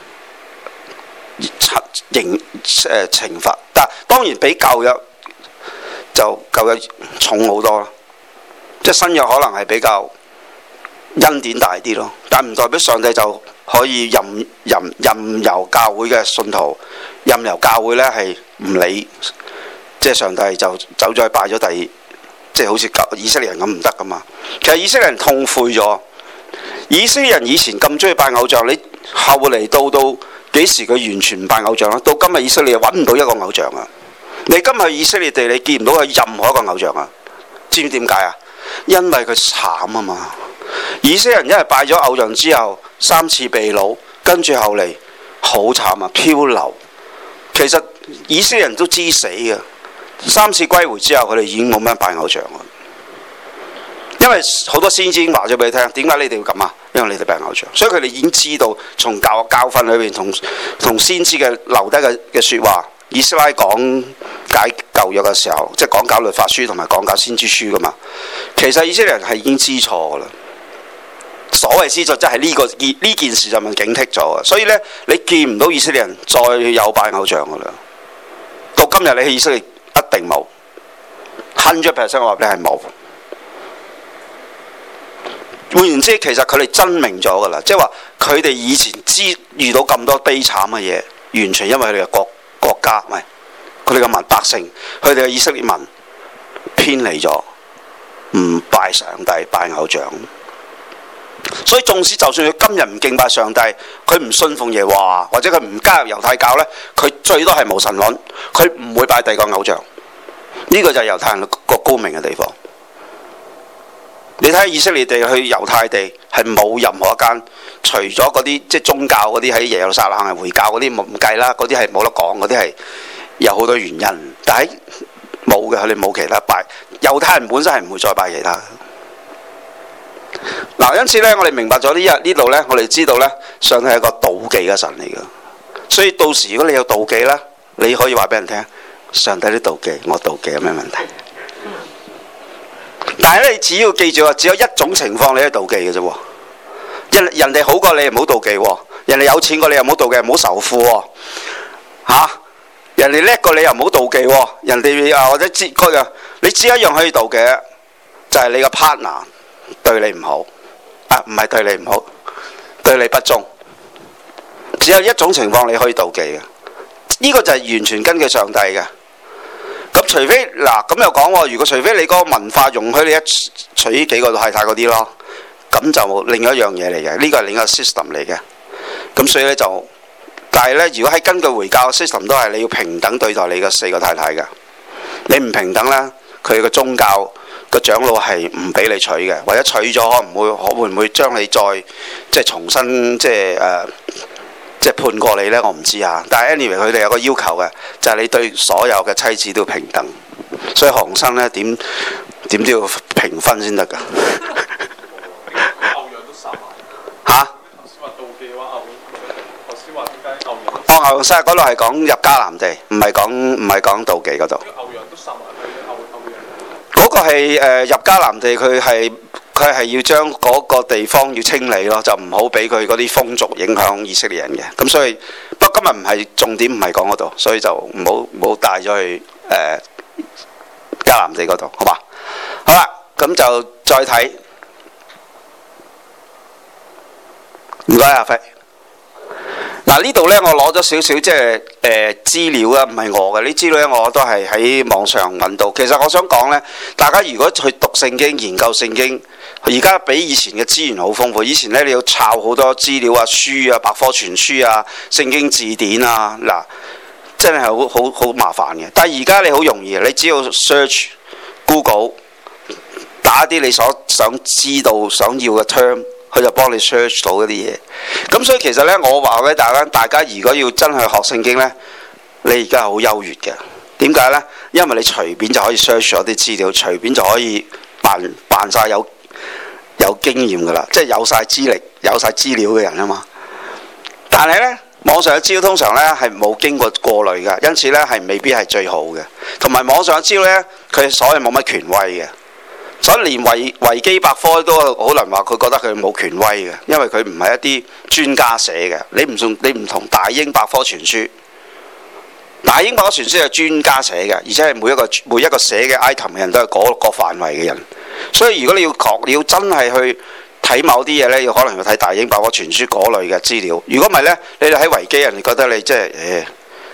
刑誒懲罰，但當然比舊約就舊約重好多啦。即係新約可能係比較恩典大啲咯，但唔代表上帝就可以任任任由教會嘅信徒，任由教會呢係唔理，即係上帝就走咗去拜咗第即係好似以色列人咁唔得噶嘛。其實以色列人痛悔咗，以色列人以前咁中意拜偶像，你後嚟到到幾時佢完全唔拜偶像啦？到今日以色列揾唔到一個偶像啊！你今日以色列地你見唔到有任何一個偶像啊？知唔知點解啊？因為佢慘啊嘛！以色列人因為拜咗偶像之後，三次被擄，跟住後嚟好慘啊，漂流。其實以色列人都知死嘅，三次歸回之後，佢哋已經冇咩拜偶像啦。因為好多先知已經話咗俾你聽，點解你哋要咁啊？因為你哋拜偶像，所以佢哋已經知道從教教訓裏邊同同先知嘅留低嘅嘅説話。以斯拉講解舊約嘅時候，即係講解律法書同埋講解先知書噶嘛。其實以色列人係已經知錯噶啦。所謂知錯，即係呢個呢件事就咪警惕咗啊。所以呢，你見唔到以色列人再有拜偶像噶啦。到今日你去以色列一定冇，hundred percent 我話你係冇。換言之，其實佢哋真明咗噶啦，即係話佢哋以前知遇到咁多悲慘嘅嘢，完全因為佢哋嘅國國家，唔係佢哋嘅民百姓，佢哋嘅以色列民偏離咗，唔拜上帝，拜偶像。所以縱使就算佢今日唔敬拜上帝，佢唔信奉耶和華，或者佢唔加入猶太教呢，佢最多係無神論，佢唔會拜第二個偶像。呢、這個就係猶太人個高明嘅地方。你睇以色列地去猶太地係冇任何一間，除咗嗰啲即係宗教嗰啲喺耶路撒冷係回教嗰啲唔計啦，嗰啲係冇得講，嗰啲係有好多原因。但係冇嘅，佢哋冇其他拜。猶太人本身係唔會再拜其他。嗱，因此咧，我哋明白咗呢日呢度咧，我哋知道咧，上帝係一個妒忌嘅神嚟㗎。所以到時如果你有妒忌咧，你可以話俾人聽，上帝都妒忌，我妒忌有咩問題？但係咧，你只要記住啊，只有一種情況你係妒忌嘅啫喎。人人哋好過你，唔好妒忌喎；人哋有錢過你，又唔好妒忌，唔好仇富喎。嚇、啊！人哋叻過你，又唔好妒忌喎。人哋啊或者知嗰樣，你只一樣可以妒忌，就係、是、你個 partner 對你唔好啊，唔係對你唔好，對你不忠。只有一種情況你可以妒忌嘅，呢、這個就係完全根據上帝嘅。咁除非嗱咁又講喎，如果除非你嗰個文化容許你一娶呢幾個太太嗰啲咯，咁就另一樣嘢嚟嘅，呢個係另一個 system 嚟嘅。咁所以咧就，但係咧如果喺根據回教 system 都係你要平等對待你嘅四個太太嘅，你唔平等咧，佢個宗教個長老係唔俾你娶嘅，或者娶咗可唔會可會唔會將你再即係重新即係誒？呃即係判過你呢，我唔知啊。但係 anyway 佢哋有個要求嘅，就係、是、你對所有嘅妻子都平等。所以韓生呢點點都要平分先得㗎。 偶像都殺埋。 嚇？ 頭先話妒忌嘅話，偶頭先話點解偶像？ 哦，偶像嗰度係講入迦南地，唔係講唔係講妒忌嗰度。 偶像都殺埋佢偶偶像。 嗰個係誒、呃、入迦南地，佢係。佢係要將嗰個地方要清理咯，就唔好俾佢嗰啲風俗影響以色列人嘅。咁所以，不過今日唔係重點，唔係講嗰度，所以就唔好唔好帶咗去誒迦南地嗰度，好嘛？好啦，咁就再睇。唔該，阿輝。嗱呢度呢，我攞咗少少即係誒資料啊，唔係我嘅，呢資料呢我都係喺網上揾到。其實我想講呢，大家如果去讀聖經、研究聖經，而家比以前嘅資源好豐富。以前呢，你要抄好多資料啊、書啊、百科全書啊、聖經字典啊，嗱真係好好好麻煩嘅。但係而家你好容易，你只要 search Google 打啲你所想知道、想要嘅 term。佢就幫你 search 到嗰啲嘢，咁所以其實呢，我話俾大家，大家如果要真係學聖經呢，你而家係好優越嘅。點解呢？因為你隨便就可以 search 咗啲資料，隨便就可以扮扮晒有有經驗㗎啦，即係有晒資歷、有晒資料嘅人啊嘛。但係呢，網上嘅資料通常呢係冇經過過濾㗎，因此呢係未必係最好嘅。同埋網上嘅資料呢，佢所謂冇乜權威嘅。所以連維維基百科都好難話佢覺得佢冇權威嘅，因為佢唔係一啲專家寫嘅。你唔同你唔同大英百科全書，大英百科全書係專家寫嘅，而且係每一個每一個寫嘅 item 嘅人都係嗰個範圍嘅人。所以如果你要確你要真係去睇某啲嘢呢，要可能要睇大英百科全書嗰類嘅資料。如果唔係呢，你哋喺維基人哋覺得你即係誒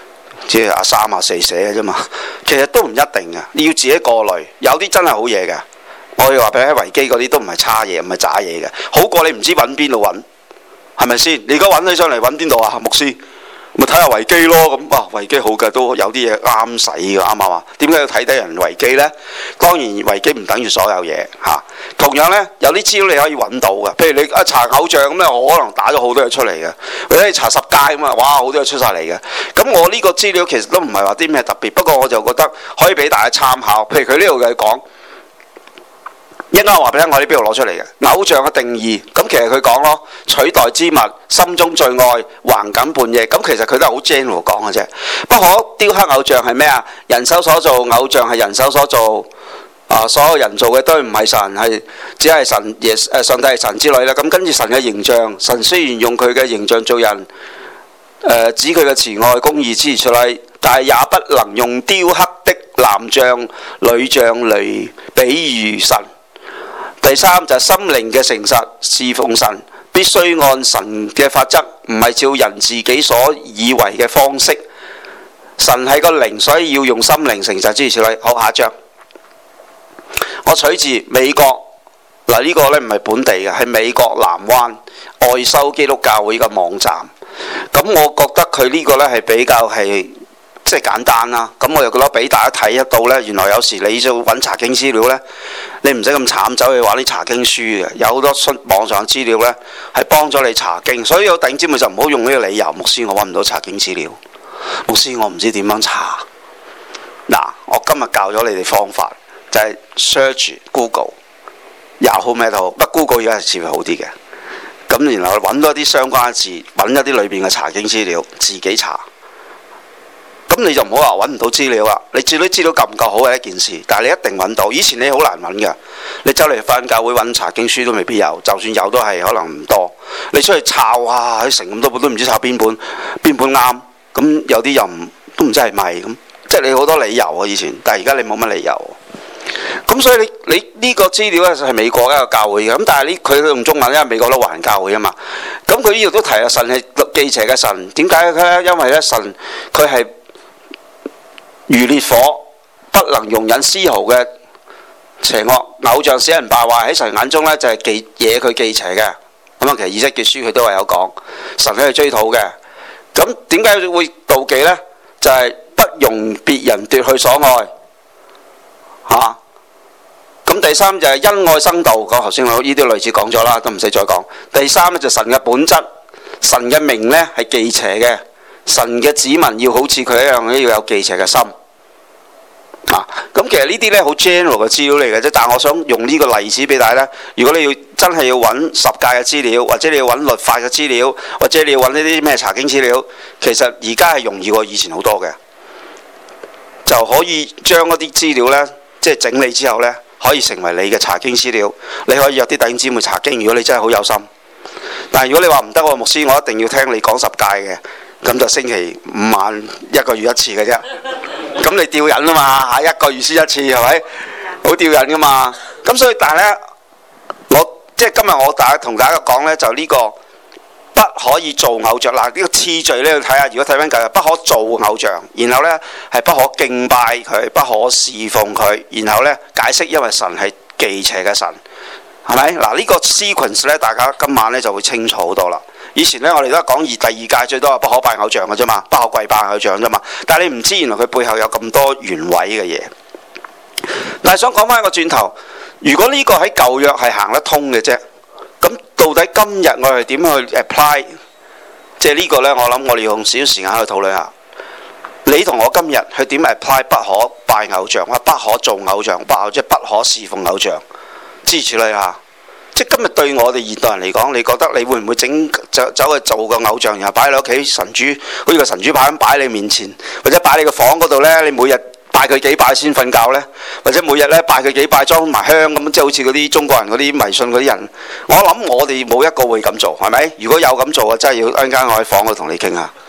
即係阿三阿四寫嘅啫嘛。其實都唔一定嘅，你要自己過濾。有啲真係好嘢嘅，我要話俾你聽，維基嗰啲都唔係差嘢，唔係渣嘢嘅，好過你唔知揾邊度揾，係咪先？你而家揾起上嚟揾邊度啊？牧師咪睇下維基咯。咁啊，維基好嘅，都有啲嘢啱使嘅，啱唔啱啊？點解要睇低人維基呢？當然維基唔等於所有嘢嚇、啊。同樣呢，有啲資料你可以揾到嘅，譬如你一查偶像咁咧，我可能打咗好多嘢出嚟嘅，或者你查十戒咁啊，哇，好多嘢出晒嚟嘅。咁我呢個資料其實都唔係話啲咩特別，不過我就覺得可以俾大家參考。譬如佢呢度嘅講。應該話俾你聽，我喺邊度攞出嚟嘅偶像嘅定義。咁其實佢講咯，取代之物，心中最愛，橫梗半夜。咁其實佢都係好 general 講嘅啫。不可雕刻偶像係咩啊？人手所做，偶像係人手所做。啊，所有人做嘅都唔係神，係只係神耶誒上帝係神之類啦。咁跟住神嘅形象，神雖然用佢嘅形象做人，誒、呃、指佢嘅慈愛公義之出嚟，但係也不能用雕刻的男像、女像嚟比喻神。第三就係、是、心靈嘅誠實，侍奉神必須按神嘅法則，唔係照人自己所以為嘅方式。神係個靈，所以要用心靈誠實之類。好，下一章，我取自美國嗱，呢、這個呢唔係本地嘅，係美國南灣愛修基督教會嘅網站。咁我覺得佢呢個呢係比較係。即係簡單啦，咁我又覺得俾大家睇得到呢。原來有時你要揾查經資料呢，你唔使咁慘走去玩啲查經書嘅，有好多網上資料呢係幫咗你查經。所以有弟兄姊妹就唔好用呢個理由，牧師我揾唔到查經資料，牧師我唔知點樣查。嗱，我今日教咗你哋方法，就係、是、search Google， 又好咩都好，不過 Google 而家係似乎好啲嘅。咁然後揾多啲相關嘅字，揾一啲裏邊嘅查經資料，自己查。咁你就唔好話揾唔到資料啦，你至啲資料夠唔夠好係一件事，但係你一定揾到。以前你好難揾嘅，你走嚟返教會揾查經書都未必有，就算有都係可能唔多。你出去抄啊，喺成咁多本都唔知抄邊本邊本啱，咁有啲又唔都唔知係咪咁，即係你好多理由啊以前，但係而家你冇乜理由。咁所以你你呢個資料咧係美國一個教會嘅，咁但係呢佢用中文，因為美國都華人教會啊嘛。咁佢呢度都提啊，神係忌邪嘅神，點解咧？因為咧神佢係如烈火，不能容忍絲毫嘅邪惡。偶像使人敗壞，喺神眼中呢就係忌惹佢忌邪嘅。咁啊，其實以西結書佢都係有講，神喺度追討嘅。咁點解會妒忌呢？就係、是、不容別人奪去所愛嚇。咁、啊、第三就係因愛生道，講頭先我呢啲類似講咗啦，都唔使再講。第三呢，就神嘅本質，神嘅名呢係忌邪嘅。神嘅子民要好似佢一樣，要有忌邪嘅心啊！咁其實呢啲呢好 general 嘅資料嚟嘅啫，但係我想用呢個例子俾大家呢。如果你要真係要揾十誡嘅資料，或者你要揾律法嘅資料，或者你要揾呢啲咩查經資料，其實而家係容易過以前好多嘅，就可以將一啲資料呢，即係整理之後呢，可以成為你嘅查經資料。你可以約啲弟兄姊妹查經，如果你真係好有心。但係如果你話唔得喎，牧師，我一定要聽你講十誡嘅。咁就星期五晚一個月一次嘅啫，咁你吊癮啊嘛嚇，一個月先一次係咪？好吊癮噶嘛。咁所以但係呢，我即係今日我大家同大家講呢，就呢個不可以做偶像。嗱，呢個次序呢，要睇下。如果睇翻舊日，不可做偶像，然後呢係不可敬拜佢，不可侍奉佢，然後呢解釋因為神係忌邪嘅神，係咪？嗱，呢個 sequence 呢，大家今晚呢就會清楚好多啦。以前呢，我哋都係講二第二屆最多係不可拜偶像嘅啫嘛，不可跪拜偶像啫嘛。但係你唔知原來佢背後有咁多原委嘅嘢。但係想講翻一個轉頭，如果呢個喺舊約係行得通嘅啫，咁到底今日我哋點去 apply？即係呢個呢，我諗我哋用少少時間去討論下。你同我今日去點 apply 不可拜偶像，或不可做偶像，不可即係不可侍奉偶像，支持你下。即係今日對我哋現代人嚟講，你覺得你會唔會整走走去做個偶像，然後擺喺你屋企神主，好似個神主牌咁擺喺你面前，或者擺喺你個房嗰度呢？你每日拜佢幾拜先瞓覺呢？或者每日呢拜佢幾拜裝埋香咁，即係好似嗰啲中國人嗰啲迷信嗰啲人。我諗我哋冇一個會咁做，係咪？如果有咁做啊，真係要陣間我喺房度同你傾下。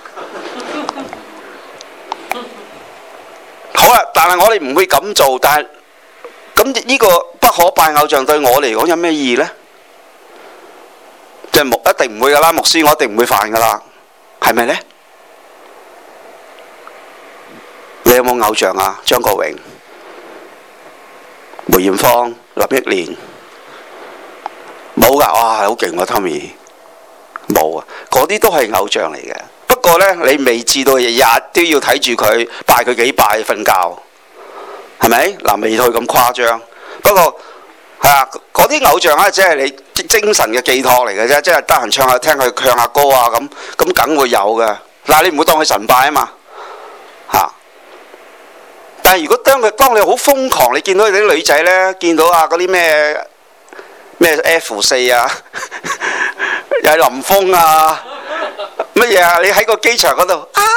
好啦，但係我哋唔會咁做，但係咁呢個不可拜偶像對我嚟講有咩意義呢？即係牧一定唔會噶啦，牧師我一定唔會犯噶啦，係咪呢？ 你有冇偶像啊？張國榮、梅艷芳、林憶蓮，冇㗎。哇，好勁喎 Tommy， 冇啊，嗰啲都係偶像嚟嘅。不過呢，你未至到日日都要睇住佢拜佢幾拜瞓覺，係咪？嗱，未去咁誇張。不過係啊，嗰啲偶像咧，即係你精神嘅寄託嚟嘅啫，即係得閒唱下聽佢唱下歌啊咁，咁梗會有嘅。嗱，你唔好當佢神拜啊嘛，嚇。但係如果當佢當你好瘋狂，你見到啲女仔呢，見到啊嗰啲咩咩 F 四啊，又係林峰啊，乜嘢啊？你喺個機場嗰度啊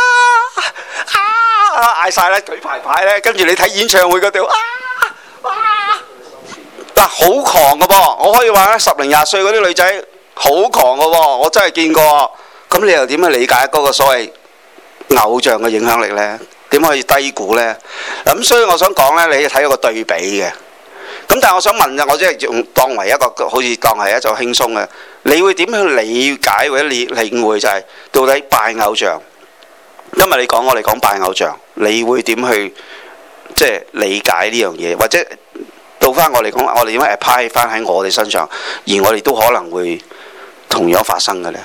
啊嗌晒咧，舉排牌呢，跟住你睇演唱會嗰度啊啊！嗱，好狂嘅噃，我可以話咧，十零廿歲嗰啲女仔好狂嘅喎，我真係見過。咁你又點去理解嗰個所謂偶像嘅影響力呢？點可以低估呢？咁所以我想講呢，你睇一個對比嘅。咁但係我想問啊，我即係用當為一個好似當係一種輕鬆嘅，你會點去理解或者理領會就係到底拜偶像？因為你講我哋講拜偶像，你會點去即係理解呢樣嘢？或者到翻我哋講，我哋點樣 apply 翻喺我哋身上，而我哋都可能會同樣發生嘅呢？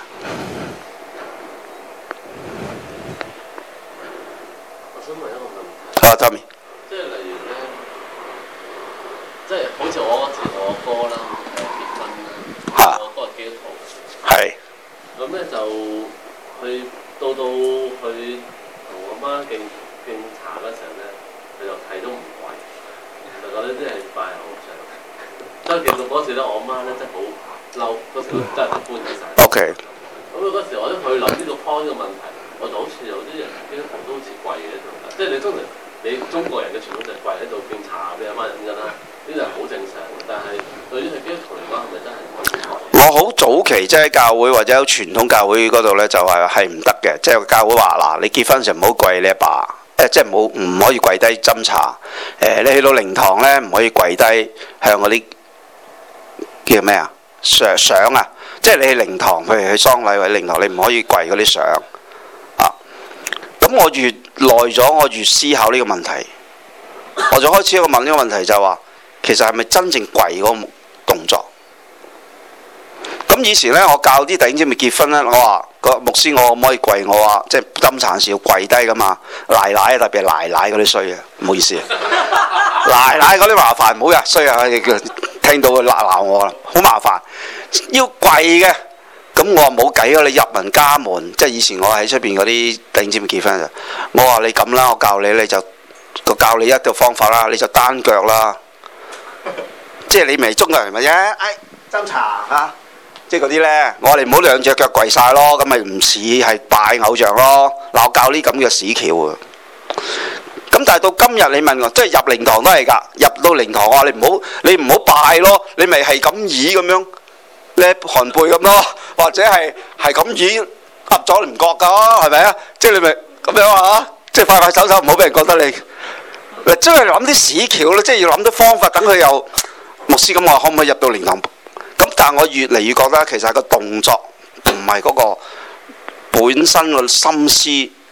我想問一個問題。 啊 Tommy， 即係例如咧，即係好似我嗰次我哥啦，誒結婚啦，我哥係基督徒， 係。 咁咧就去到到去同我媽敬敬茶嗰陣咧，佢就睇都唔跪，就覺得啲係拜偶像。所以其實嗰時咧，我媽咧真係好嬲，嗰時真係搬起晒。 O K。 咁嗰時我都去諗呢個 point 嘅問題，我就好似有啲人基督徒都好似跪喺度，即係你通常你中國人嘅傳統就係跪喺度敬茶俾阿媽飲緊啦，呢啲係好正常嘅。但係對於係基督徒嚟講，係咪真係唔可以？ 我好早期即係教會或者有傳統教會嗰度呢，就係係唔得嘅，即係教會話嗱，你結婚時唔好跪你阿爸，誒即係冇唔可以跪低斟茶，誒你去到靈堂呢，唔可以跪低向嗰啲叫咩啊相相啊，即係你去靈堂，譬如去喪禮或者靈堂，你唔可以跪嗰啲相啊。咁我越耐咗，我越思考呢個問題，我就開始一個問呢個問題就係話，其實係咪真正跪嗰個動作？咁以前咧，我教啲弟兄姊妹結婚咧，我話個牧師，我可唔可以跪？我話即係斟茶時要跪低噶嘛，奶奶特別係奶奶嗰啲衰啊，唔好意思啊，奶奶嗰啲麻煩，唔好呀衰啊，聽到佢鬧鬧我啦，好麻煩，要跪嘅。咁我話冇計啊，你入民家門，即係以前我喺出邊嗰啲弟兄姊妹結婚就，我話你咁啦，我教你你就個教你一個方法啦，你就單腳啦，即係你咪中國人咪啫，哎斟茶嚇。即係嗰啲呢，我話你唔好兩隻腳跪晒咯，咁咪唔似係拜偶像咯。嗱，我教呢咁嘅屎橋啊！咁但係到今日你問我，即係入靈堂都係㗎，入到靈堂我話你唔好，你唔好拜咯，你咪係咁倚咁樣，咧寒背咁咯，或者係係咁倚噏咗你唔覺㗎，係咪啊？即係你咪咁樣啊！即係快快手手，唔好俾人覺得你嗱，即係諗啲屎橋咯，即係要諗啲方法，等佢又牧師咁話，可唔可以入到靈堂？咁但係我越嚟越覺得其實係個動作，唔係嗰個本身個心思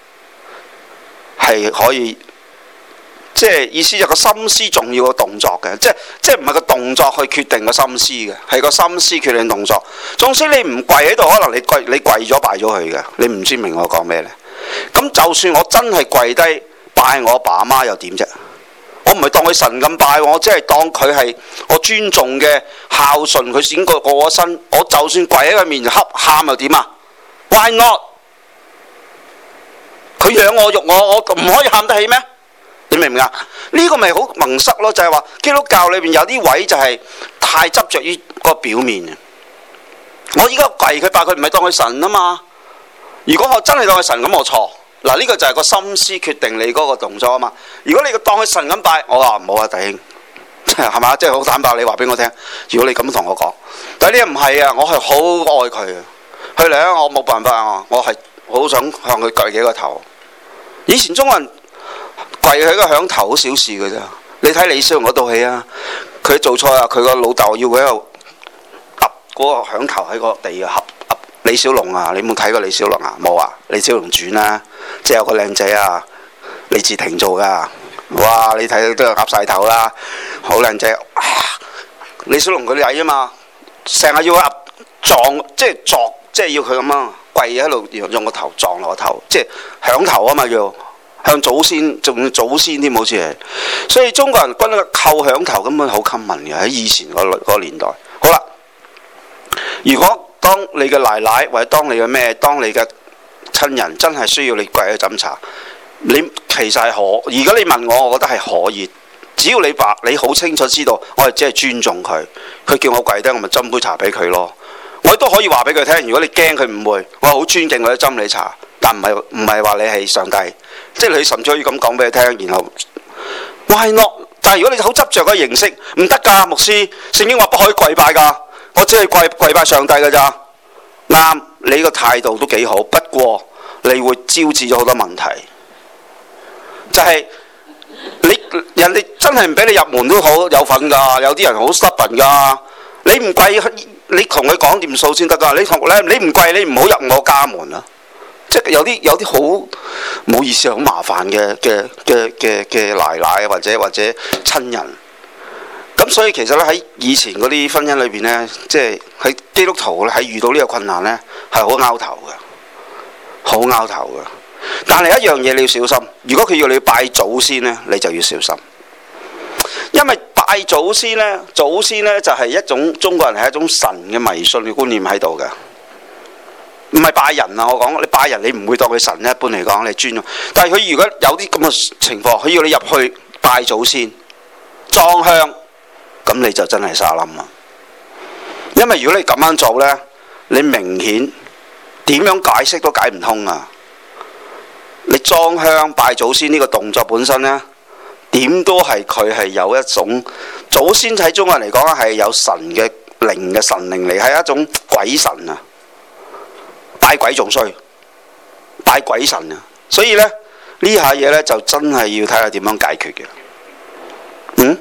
係可以，即係意思就個心思重要個動作嘅，即係即係唔係個動作去決定個心思嘅，係個心思決定動作。縱使你唔跪喺度，可能你跪你跪咗拜咗佢嘅，你唔知明我講咩呢？咁就算我真係跪低拜我阿爸阿媽又點啫？我唔係當佢神咁拜，我只係當佢係我尊重嘅孝順，佢先過過咗身。我就算跪喺佢面前恰喊又點啊 ？Why not？ 佢養我育我，我唔可以喊得起咩？你明唔明啊？呢、這個咪好蒙塞咯，就係、是、話基督教裏邊有啲位就係太執着於個表面。我依家跪佢拜佢，唔係當佢神啊嘛。如果我真係當佢神咁，我錯。嗱，呢個就係個心思決定你嗰個動作啊嘛。如果你當佢神咁拜，我話唔好啊，弟兄，係嘛？即係好坦白，你話俾我聽。如果你咁同我講，但係呢個唔係啊，我係好愛佢啊。佢嚟啊，我冇辦法啊，我係好想向佢跪幾個頭。以前中國人跪佢個響頭好小事嘅啫。你睇李小龍嗰套戲啊，佢做錯啊，佢個老豆要佢喺度揼嗰個響頭喺個地啊，揼揼李小龍啊，你冇睇過李小龍啊？冇啊，李小龍傳啊。即係有個靚仔啊！ 李治廷做㗎。哇！你睇到都有鴨晒頭啦，好靚仔。李小龍佢哋矮啊嘛，成日要鴨撞，即係撞，即係要佢咁啊，跪喺度用個頭撞落個頭，即係響頭啊嘛叫。向祖先，仲要祖先添，好似係，所以中國人均個叩響頭根本好 common 嘅喺以前嗰個年代。好啦，如果當你嘅奶奶或者當你嘅咩，當你嘅親人真係需要你跪喺度斟茶，你其實係可。而家你問我，我覺得係可以，只要你話你好清楚知道，我係只係尊重佢，佢叫我跪低，我咪斟杯茶俾佢咯。我都可以話俾佢聽，如果你驚佢誤會，我好尊敬佢斟你茶。但唔係唔係話你係上帝，即係你甚至可以咁講俾佢聽，然後 why not？但係如果你好執着個形式，唔得㗎，牧師聖經話不可以跪拜㗎，我只係跪跪拜上帝㗎咋。啱，你個態度都幾好，不過你會招致咗好多問題，就係、是、你人哋真係唔俾你入門都好有份㗎，有啲人好 stubborn 㗎，你唔跪，你同佢講掂數先得㗎，你同咧你唔跪，你唔好入我家門啊！即係有啲有啲好唔好意思，好麻煩嘅嘅嘅嘅嘅奶奶或者或者親人。咁所以其實咧喺以前嗰啲婚姻裏邊咧，即係喺基督徒咧喺遇到呢個困難咧係好拗頭嘅，好拗頭嘅。但係一樣嘢你要小心，如果佢要你拜祖先咧，你就要小心，因為拜祖先咧，祖先咧就係一種中國人係一種神嘅迷信嘅觀念喺度嘅。唔係拜人啊！我講你拜人，你唔會當佢神咧。一般嚟講，你尊重。但係佢如果有啲咁嘅情況，佢要你入去拜祖先、裝香，咁你就真係沙冧啦。因為如果你咁樣做呢，你明顯點樣解釋都解唔通啊！你裝香拜祖先呢個動作本身呢，點都係佢係有一種祖先喺中國人嚟講係有神嘅靈嘅神靈嚟，係一種鬼神啊！拜鬼仲衰，拜鬼神啊！所以咧呢下嘢咧就真係要睇下點樣解決嘅。嗯？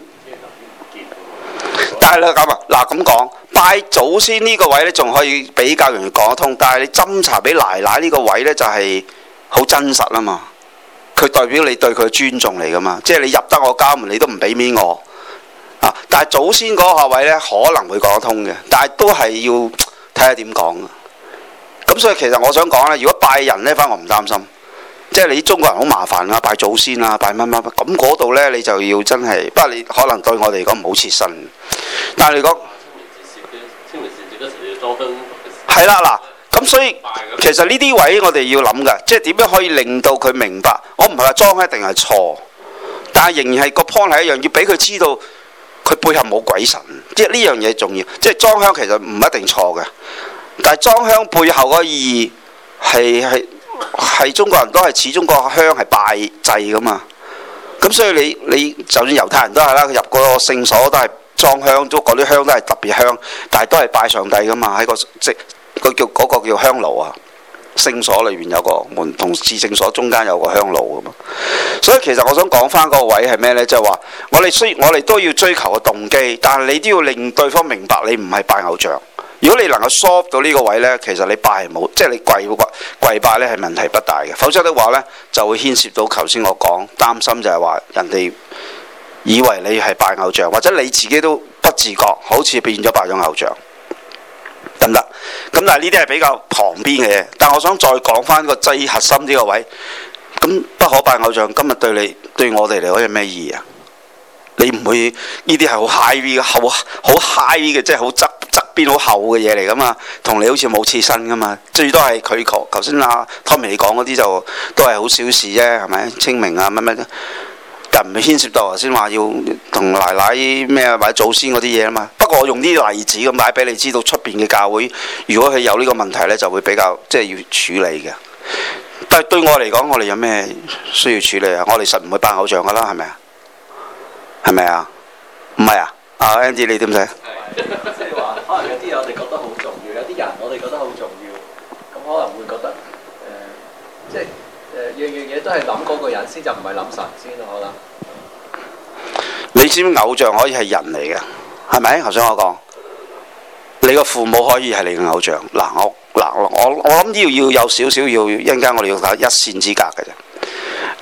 但係咧咁啊，嗱咁講，拜祖先呢個位咧仲可以比較容易講得通，但係你斟茶俾奶奶呢個位咧就係好真實啊嘛。佢代表你對佢嘅尊重嚟噶嘛，即係你入得我家門，你都唔俾面我啊。但係祖先嗰下位咧可能會講得通嘅，但係都係要睇下點講。咁所以其實我想講咧，如果拜人咧，反而我唔擔心，即係你中國人好麻煩啊，拜祖先啊，拜乜乜乜，咁嗰度咧你就要真係，不過你可能對我哋嚟講唔好切身，但係你講清明時節嗰時要裝香，係啦嗱，咁所以其實呢啲位我哋要諗㗎，即係點樣可以令到佢明白，我唔係話裝一定係錯，但係仍然係個 point 係一樣，要俾佢知道佢背後冇鬼神，即係呢樣嘢重要，即係裝香其實唔一定錯嘅。但係裝香背後嗰個意義係係係中國人都係始終個香係拜祭噶嘛，咁所以你你就算猶太人都係啦，佢入嗰個聖所都係裝香，都嗰啲香都係特別香，但係都係拜上帝噶嘛，喺個即個叫嗰個叫香爐啊，聖所裏邊有個門同至聖所中間有個香爐噶嘛，所以其實我想講翻嗰個位係咩呢？就係話我哋雖我哋都要追求個動機，但係你都要令對方明白你唔係拜偶像。如果你能夠 solve 到呢個位呢，其實你拜係冇，即係你跪跪跪拜呢係問題不大嘅。否則的話呢，就會牽涉到頭先我講擔心就係話人哋以為你係拜偶像，或者你自己都不自覺好似變咗拜咗偶像，得唔得？咁但係呢啲係比較旁邊嘅嘢。但我想再講翻個最核心呢個位，咁不可拜偶像今日對你對我哋嚟講有咩意義啊？你唔會呢啲係好 high 嘅，好好 high 嘅，即係好側側邊好厚嘅嘢嚟噶嘛，同你好似冇切身噶嘛，最多係佢頭頭先阿 Tommy 講嗰啲就都係好小事啫，係咪？清明啊乜乜，但唔係牽涉到頭先話要同奶奶咩或者祖先嗰啲嘢啊嘛。不過我用啲例子咁擺俾你知道，出邊嘅教會如果佢有呢個問題呢，就會比較即係要處理嘅。但係對我嚟講，我哋有咩需要處理啊？我哋實唔會拜偶像噶啦，係咪啊？係咪啊？唔係啊？阿 Andy 你點睇？ 即係話，可能有啲嘢我哋覺得好重要，有啲人我哋覺得好重要，咁可能會覺得誒、呃，即係誒、呃、樣樣嘢都係諗嗰個人先，就唔係諗神先咯，可能。 你知唔知偶像可以係人嚟嘅？係咪？頭先我講，你個父母可以係你嘅偶像。嗱，我嗱我我諗要要有少少要一陣間我哋要睇一線之隔嘅啫。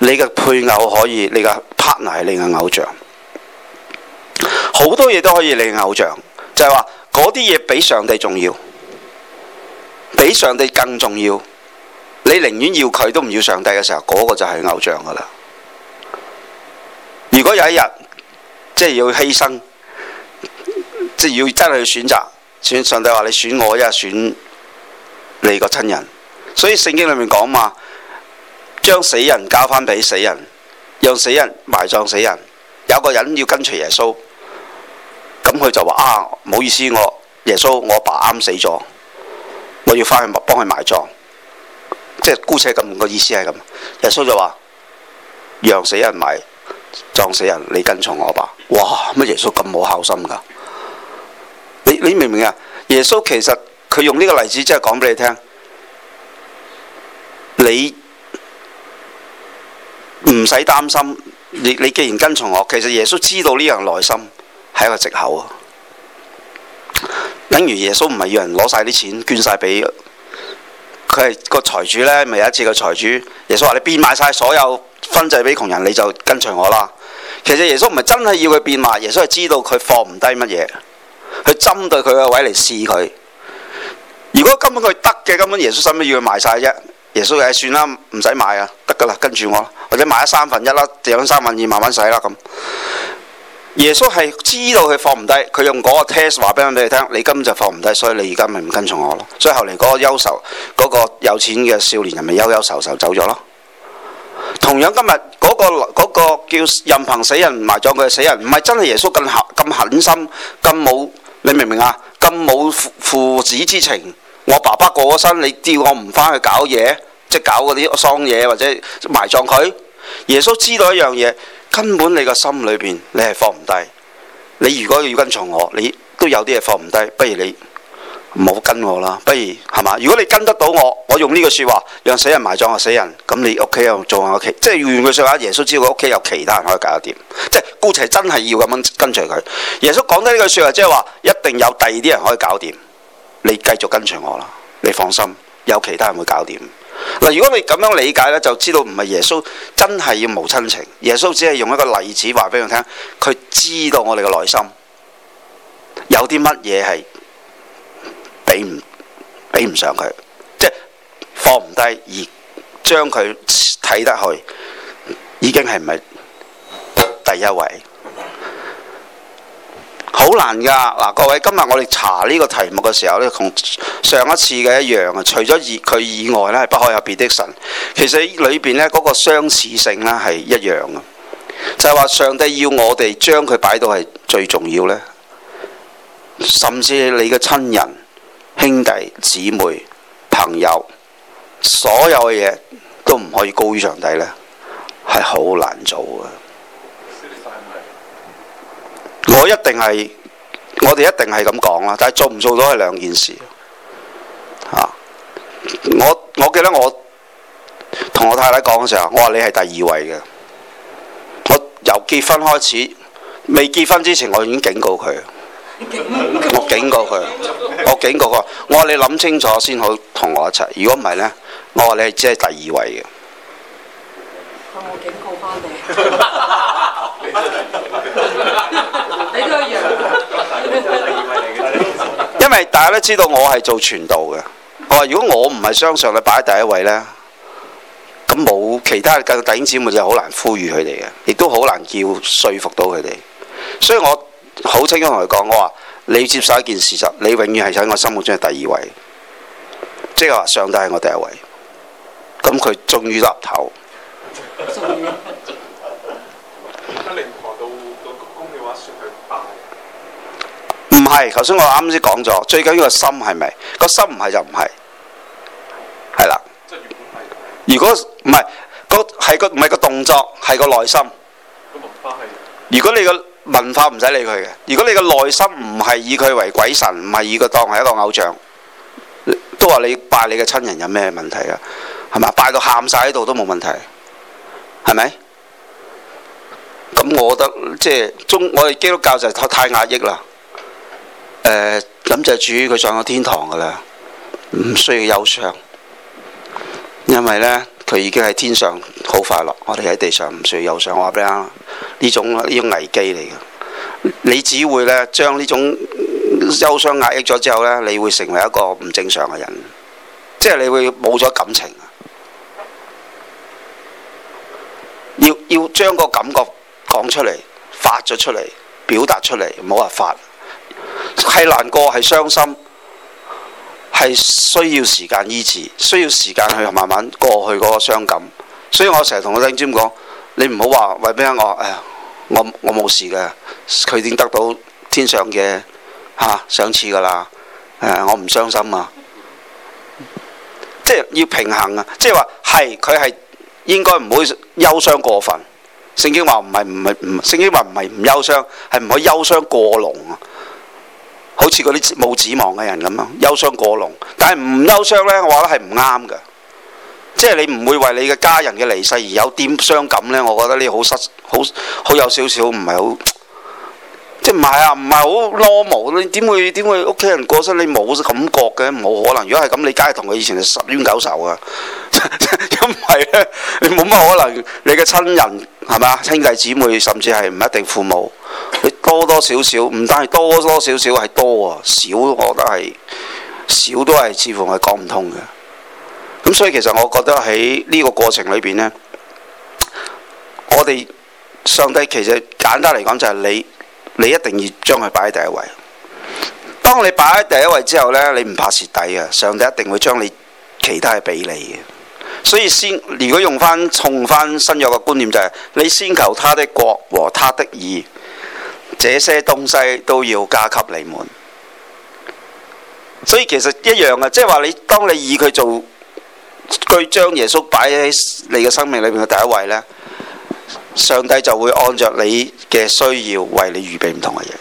你嘅配偶可以，你嘅 partner 係你嘅偶像，好多嘢都可以你嘅偶像，就係話嗰啲嘢比上帝重要，比上帝更重要。你寧願要佢都唔要上帝嘅時候，嗰、嗰個就係偶像噶啦。如果有一日即係要犧牲，即係要真係去選擇，選上帝話你選我，一係選你個親人。所以聖經裏面講嘛，將死人交翻俾死人，讓死人埋葬死人。有個人要跟隨耶穌，咁佢就話啊，唔好意思，我耶穌我阿爸啱死咗，我要翻去幫佢埋葬。即係姑且咁個意思係咁。耶穌就話讓死人埋葬死人，你跟從我阿爸。哇！乜耶穌咁冇孝心㗎？你你明唔明啊？耶穌其實佢用呢個例子，即係講俾你聽，你唔使擔心。你你既然跟從我，其實耶穌知道呢樣內心係一個藉口啊。等於耶穌唔係要人攞晒啲錢捐晒俾佢，係個財主呢，咪有一次個財主，耶穌話你變賣晒所有分祭俾窮人，你就跟隨我啦。其實耶穌唔係真係要佢變賣，耶穌係知道佢放唔低乜嘢，佢針對佢個位嚟試佢。如果根本佢得嘅，根本耶穌使乜要佢賣晒啫？耶穌誒算啦，唔使買啊，得噶啦，跟住我，或者買咗三分一啦，剩三分二慢慢使啦咁。耶穌係知道佢放唔低，佢用嗰個 test 話俾你聽，你根本就放唔低，所以你而家咪唔跟從我咯。所以後嚟嗰個憂愁，嗰、嗰個有錢嘅少年人咪憂憂愁愁走咗咯。同樣今日嗰、嗰個嗰個叫任憑死人埋葬佢嘅死人，唔係真係耶穌咁狠咁狠心，咁冇，你明唔明啊？咁冇父父子之情。我爸爸過咗身，你叫我唔翻去搞嘢，即係搞嗰啲喪嘢或者埋葬佢。耶穌知道一樣嘢，根本你個心裏邊你係放唔低。你如果要跟從我，你都有啲嘢放唔低，不如你唔好跟我啦。不如係嘛？如果你跟得到我，我用呢句説話，讓死人埋葬個死人，咁你屋企又做下其，即係用句説話，耶穌知道佢屋企有其他人可以搞得掂。即係姑且真係要咁樣跟隨佢。耶穌講得呢句説話，即係話一定有第二啲人可以搞掂。你繼續跟隨我啦，你放心，有其他人會搞掂。嗱，如果你咁樣理解呢，就知道唔係耶穌真係要無親情，耶穌只係用一個例子話俾佢聽，佢知道我哋嘅內心有啲乜嘢係比唔比唔上佢，即係放唔低而將佢睇得去，已經係唔係第一位。好難㗎嗱，各位，今日我哋查呢個題目嘅時候呢，同上一次嘅一樣啊。除咗以佢以外呢，係不可有別的神。其實裏邊呢，嗰個相似性呢係一樣嘅，就係話上帝要我哋將佢擺到係最重要呢，甚至你嘅親人、兄弟、姊妹、朋友，所有嘅嘢都唔可以高於上帝呢，係好難做嘅。我一定係，我哋一定係咁講啦，但係做唔做到係兩件事。啊，我我記得我同我太太講嘅時候，我話你係第二位嘅。我由結婚開始，未結婚之前我已經警告佢，我警告佢，我警告佢，我話你諗清楚先好同我一齊。如果唔係呢，我話你係只係第二位嘅。 我警告翻你，你都一樣。 因為大家都知道我係做傳道嘅，我話如果我唔係相信你擺喺第一位呢，咁冇其他嘅弟兄姊妹就好難呼籲佢哋嘅，亦都好難叫說服到佢哋。所以我好清楚同佢講，我話你接受一件事實，你永遠係喺我心目中係第二位，即係話上帝係我第一位。咁佢終於岌頭。唔係，頭先我啱先講咗，最緊要個心係咪？個心唔係就唔係，係啦。如果唔係個係個唔係個動作，係個內心。如果你個文化唔使理佢嘅，如果你個內心唔係以佢為鬼神，唔係以佢當係一個偶像，都話你拜你嘅親人有咩問題啊？係咪？拜到喊晒喺度都冇問題，係咪？咁我覺得即係中我哋基督教就太壓抑啦。誒、呃，咁就主佢上咗天堂噶啦，唔需要憂傷，因為呢， 佢已經喺天上好快樂，我哋喺地上唔需要憂傷。我話俾你聽，呢種呢種危機嚟嘅，你只會呢將呢種憂傷壓抑咗之後呢，你會成為一個唔正常嘅人，即係你會冇咗感情。要要將個感覺講出嚟，發咗出嚟，表達出嚟，唔好話發，係難過，係傷心，係需要時間醫治，需要時間去慢慢過去嗰個傷感。所以我成日同我弟兄講，你唔好話為咩我誒，我我冇事嘅，佢已經得到天上嘅嚇賞賜㗎啦。誒，我唔傷心啊，即係要平衡啊，即係話係佢係。應該唔會憂傷過分。聖經話唔係唔係唔，聖經話唔係唔憂傷，係唔可以憂傷過濃啊。好似嗰啲冇指望嘅人咁啊，憂傷過濃。但係唔憂傷呢，我話咧係唔啱嘅。即係你唔會為你嘅家人嘅離世而有啲傷感呢。我覺得呢好失好好有少少唔係好，即係唔係啊？唔係好 normal。你點會點會屋企人過身你冇感覺嘅？冇可能。如果係咁，你梗係同佢以前係十冤九仇啊！因為咧，你冇乜可能，你嘅親人係咪啊？兄弟姊妹，甚至係唔一定父母，你多多少少，唔單係多多少少係多啊，少我覺得係少都係似乎係講唔通嘅。咁所以其實我覺得喺呢個過程裏邊呢，我哋上帝其實簡單嚟講就係你，你一定要將佢擺喺第一位。當你擺喺第一位之後呢，你唔怕蝕底嘅，上帝一定會將你其他係俾你嘅。所以先，如果用翻重翻新約嘅觀念就係、是，你先求他的國和他的義，這些東西都要加給你們。所以其實一樣嘅，即係話你當你以佢做，佢將耶穌擺喺你嘅生命裏面嘅第一位呢，上帝就會按着你嘅需要為你預備唔同嘅嘢。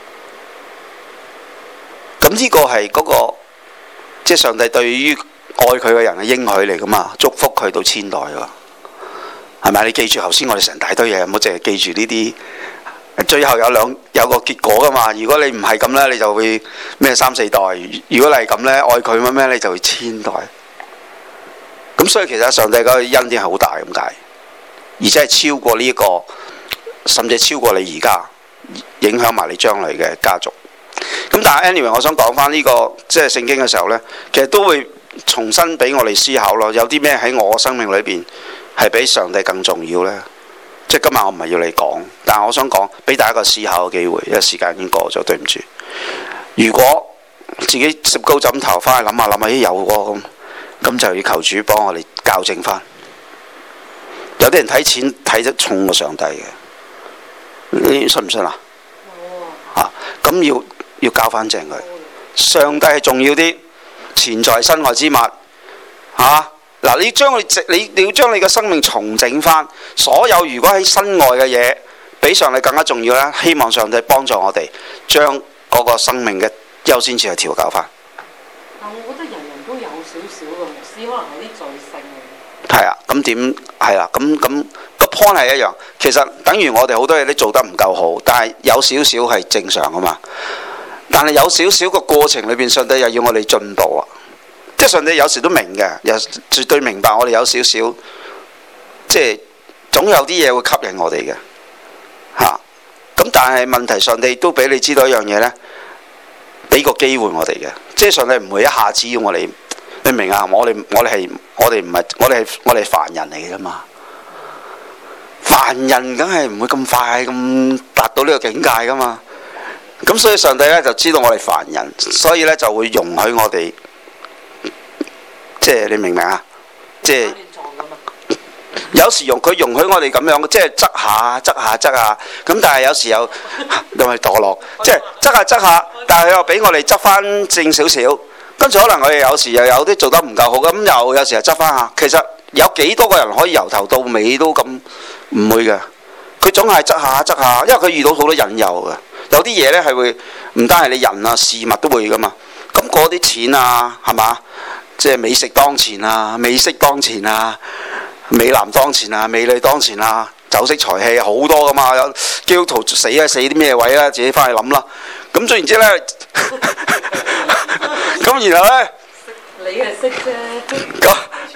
咁呢個係嗰、那個，即係上帝對於愛佢嘅人嘅應許嚟噶嘛，祝福佢到千代喎，係咪？你記住頭先我哋成大堆嘢，唔好淨係記住呢啲，最後有兩有個結果噶嘛。如果你唔係咁呢，你就會咩三四代；如果你係咁呢，愛佢乜咩，你就會千代。咁所以其實上帝嗰個恩典係好大咁解，而且係超過呢、這、一個，甚至超過你而家，影響埋你將來嘅家族。咁但係 anyway， 我想講翻呢個即係聖經嘅時候呢，其實都會重新俾我哋思考咯，有啲咩喺我生命裏邊係比上帝更重要呢？即係今日我唔係要你講，但係我想講俾大家一個思考嘅機會，因為時間已經過咗，對唔住。如果自己攝高枕頭翻去諗下諗下，咦有喎咁，咁就要求主幫我哋校正翻。有啲人睇錢睇得重過上帝嘅，你信唔信啊？啊，咁要要校翻正佢。上帝係重要啲。錢財身外之物，嚇、啊、嗱！你將佢你你要將你嘅生命重整翻，所有如果喺身外嘅嘢比上帝更加重要咧，希望上帝幫助我哋將嗰個生命嘅優先次去調教翻。 但我覺得人人都有少少嘅，牧師可能有啲罪性嘅。 係啊，咁點係啦？咁咁個 point 係一樣，其實等於我哋好多嘢都做得唔夠好，但係有少少係正常啊嘛。但係有少少個過程裏邊，上帝又要我哋進步啊！即係上帝有時都明嘅，又絕對明白我哋有少少，即係總有啲嘢會吸引我哋嘅嚇。咁、啊、但係問題，上帝都俾你知道一樣嘢呢，俾個機會我哋嘅，即係上帝唔會一下子要我哋，你明啊？我哋我哋係我哋唔係我哋係我哋係凡人嚟嘅啫嘛，凡人梗係唔會咁快咁達到呢個境界噶嘛。咁所以上帝咧就知道我哋凡人，所以咧就會容許我哋，即係你明唔明啊？即係有時用佢容許我哋咁樣，即係側下側下側下，咁但係有時又又係墮落，即係側下側下，但係佢又俾我哋執翻正少少，跟住可能我哋有時又有啲做得唔夠好，咁又有時又執翻下。其實有幾多個人可以由頭到尾都咁唔會嘅？佢總係側下側下，因為佢遇到好多引誘嘅。有啲嘢呢係會唔單係你人啊事物都會噶嘛，咁嗰啲錢啊係嘛，即係美食當前啊，美色當前啊，美男當前啊，美女當前啊，酒色財氣好多噶嘛，有基督徒死啊死啲咩位啊，自己翻去諗啦。咁總言之呢，咁然後呢， 你係識啫。 咁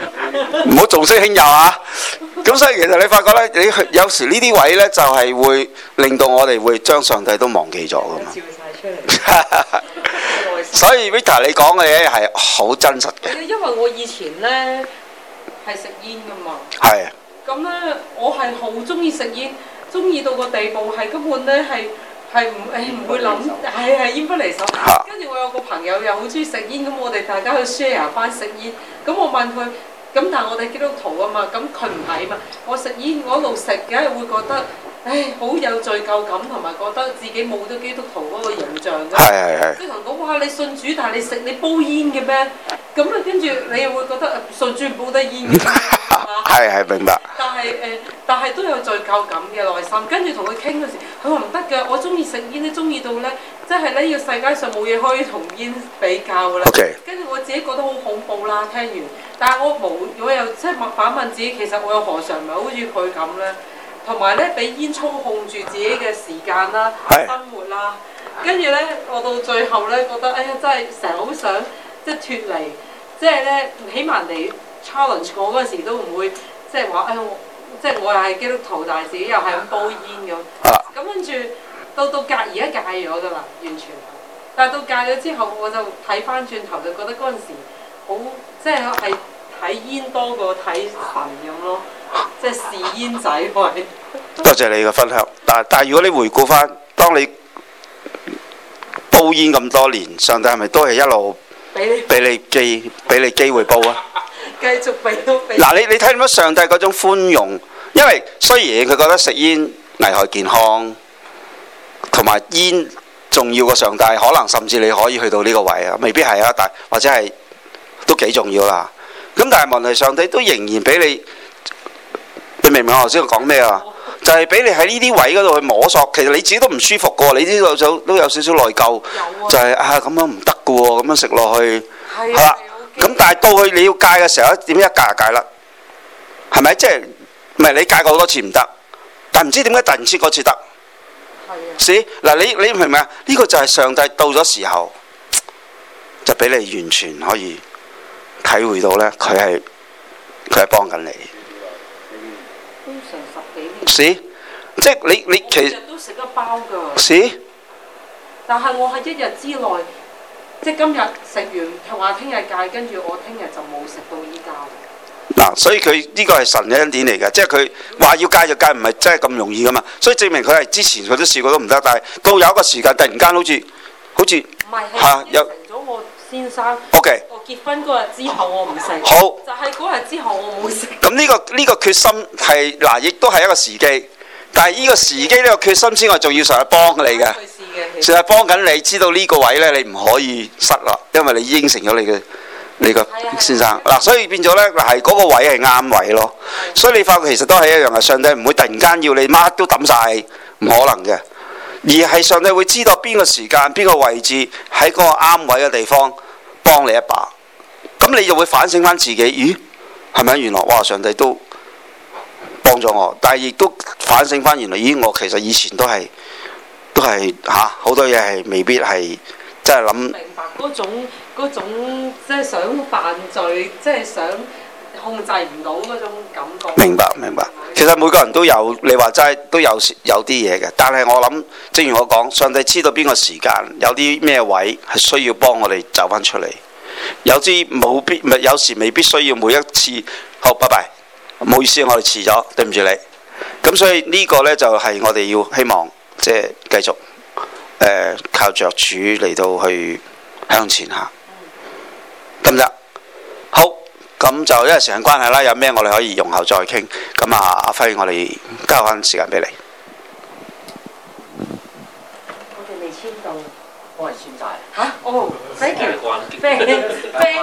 唔好重色輕友啊！咁所以其實你發覺咧，你有時呢啲位咧就係會令到我哋會將上帝都忘記咗噶嘛。 照晒出嚟。 所以 Vita 你講嘅嘢係好真實嘅。 因為我以前咧係食煙噶嘛。 係。 咁咧，我係好中意食煙，中意到個地步係根本咧係係唔誒唔會諗係係煙不離手。跟住我有個朋友又好中意食煙，咁我哋大家去 share 翻食煙。咁我問佢。咁但係我哋基督徒啊嘛，咁佢唔係嘛。我食煙，我一路食，梗係會覺得，唉，好有罪疚感，同埋覺得自己冇咗基督徒嗰個形象嘅。係係係。即係同講，哇！你信主，但係你食你煲煙嘅咩？咁啊，跟住你又會覺得信主唔煲得煙嘅。係係明白。但係誒、呃，但係都有罪疚感嘅內心。跟住同佢傾嗰時，佢話唔得㗎，我中意食煙咧，中意到咧，即係呢個世界上冇嘢可以同煙比較㗎啦。Okay. 跟住我自己覺得好恐怖啦，聽完。但係我冇，我又即係反問自己，其實我又何嘗唔係好似佢咁咧？同埋咧，俾煙操控住自己嘅時間啦、生活啦，跟住咧，我到最後咧覺得，哎呀，真係成日好想即係脫離，即係咧，起碼你 challenge 我嗰陣時都唔會即係話，哎我即係我又係基督徒，但係自己又係咁煲煙咁。咁跟住到到戒而家戒咗㗎啦，完全。但係到戒咗之後，我就睇翻轉頭就覺得嗰陣時好即係係。睇煙多過睇神咁咯，即係試煙仔喂。多謝你嘅分享，但但係如果你回顧翻，當你煲煙咁多年，上帝係咪都係一路俾你俾你機俾你機會煲啊？繼續俾到俾。嗱，你你睇到上帝嗰種寬容，因為雖然佢覺得食煙危害健康，同埋煙重要過上帝，可能甚至你可以去到呢個位啊，未必係啊，但或者係都幾重要啦。咁但係問題，上帝都仍然俾你，你明唔明我頭先講咩啊？就係俾你喺呢啲位嗰度去摸索，其實你自己都唔舒服嘅喎，你知道就都有少少內疚，就係啊咁樣唔得嘅喎，咁樣食落去，係啦。咁但係到去你要戒嘅時候，點一戒就戒啦，係咪？即係唔係你戒過好多次唔得，但係唔知點解突然之間嗰次得？係啊。是嗱，你你明唔明啊？呢個就係上帝到咗時候，就俾你完全可以。體會到咧，佢係佢係幫緊你。都成十幾年。是，即係你你其實。日都食得包㗎。是。但係我喺一日之內，即係今日食完，同話聽日戒，跟住我聽日就冇食到依家。嗱，所以佢呢個係神嘅恩典嚟嘅，即係佢話要戒就戒，唔係真係咁容易㗎嘛。所以證明佢係之前佢都試過都唔得，但係到有一個時間，突然間好似好似嚇有。先生，OK，我結婚嗰日之後我唔食，好，就係嗰日之後我冇食。咁呢、呢個呢、呢個決心係嗱，亦都係一個時機，但係呢個時機呢個決心之外，仲要上去幫你嘅，上去幫緊你，知道呢個位呢，你唔可以失啦，因為你應承咗你嘅你個先生嗱，所以變咗呢，嗱係嗰個位係啱位咯，所以你發覺其實都係一樣嘅，上帝唔會突然間要你乜都抌晒，唔可能嘅。而係上帝會知道邊個時間、邊個位置喺嗰個啱位嘅地方幫你一把，咁你就會反省翻自己，咦，係咪原來哇上帝都幫咗我，但係亦都反省翻原來，咦我其實以前都係都係嚇好多嘢係未必係真係諗。明白嗰種嗰種即係想犯罪，即係想控制唔到嗰種感覺。明白明白。其實每個人都有，你話齋都有有啲嘢嘅，但係我諗，正如我講，上帝知道邊個時間有啲咩位係需要幫我哋走翻出嚟，有啲冇必，唔係有時未必需要每一次。好，拜拜，唔好意思，我哋遲咗，對唔住你。咁所以呢個呢，就係、是、我哋要希望即係繼續誒、呃、靠着主嚟到去向前行，得唔得？好。咁就因為時間關係啦，有咩我哋可以容後再傾。咁啊，阿輝，我哋交翻時間俾你。我哋未簽到，我係簽晒。嚇？哦，thank you。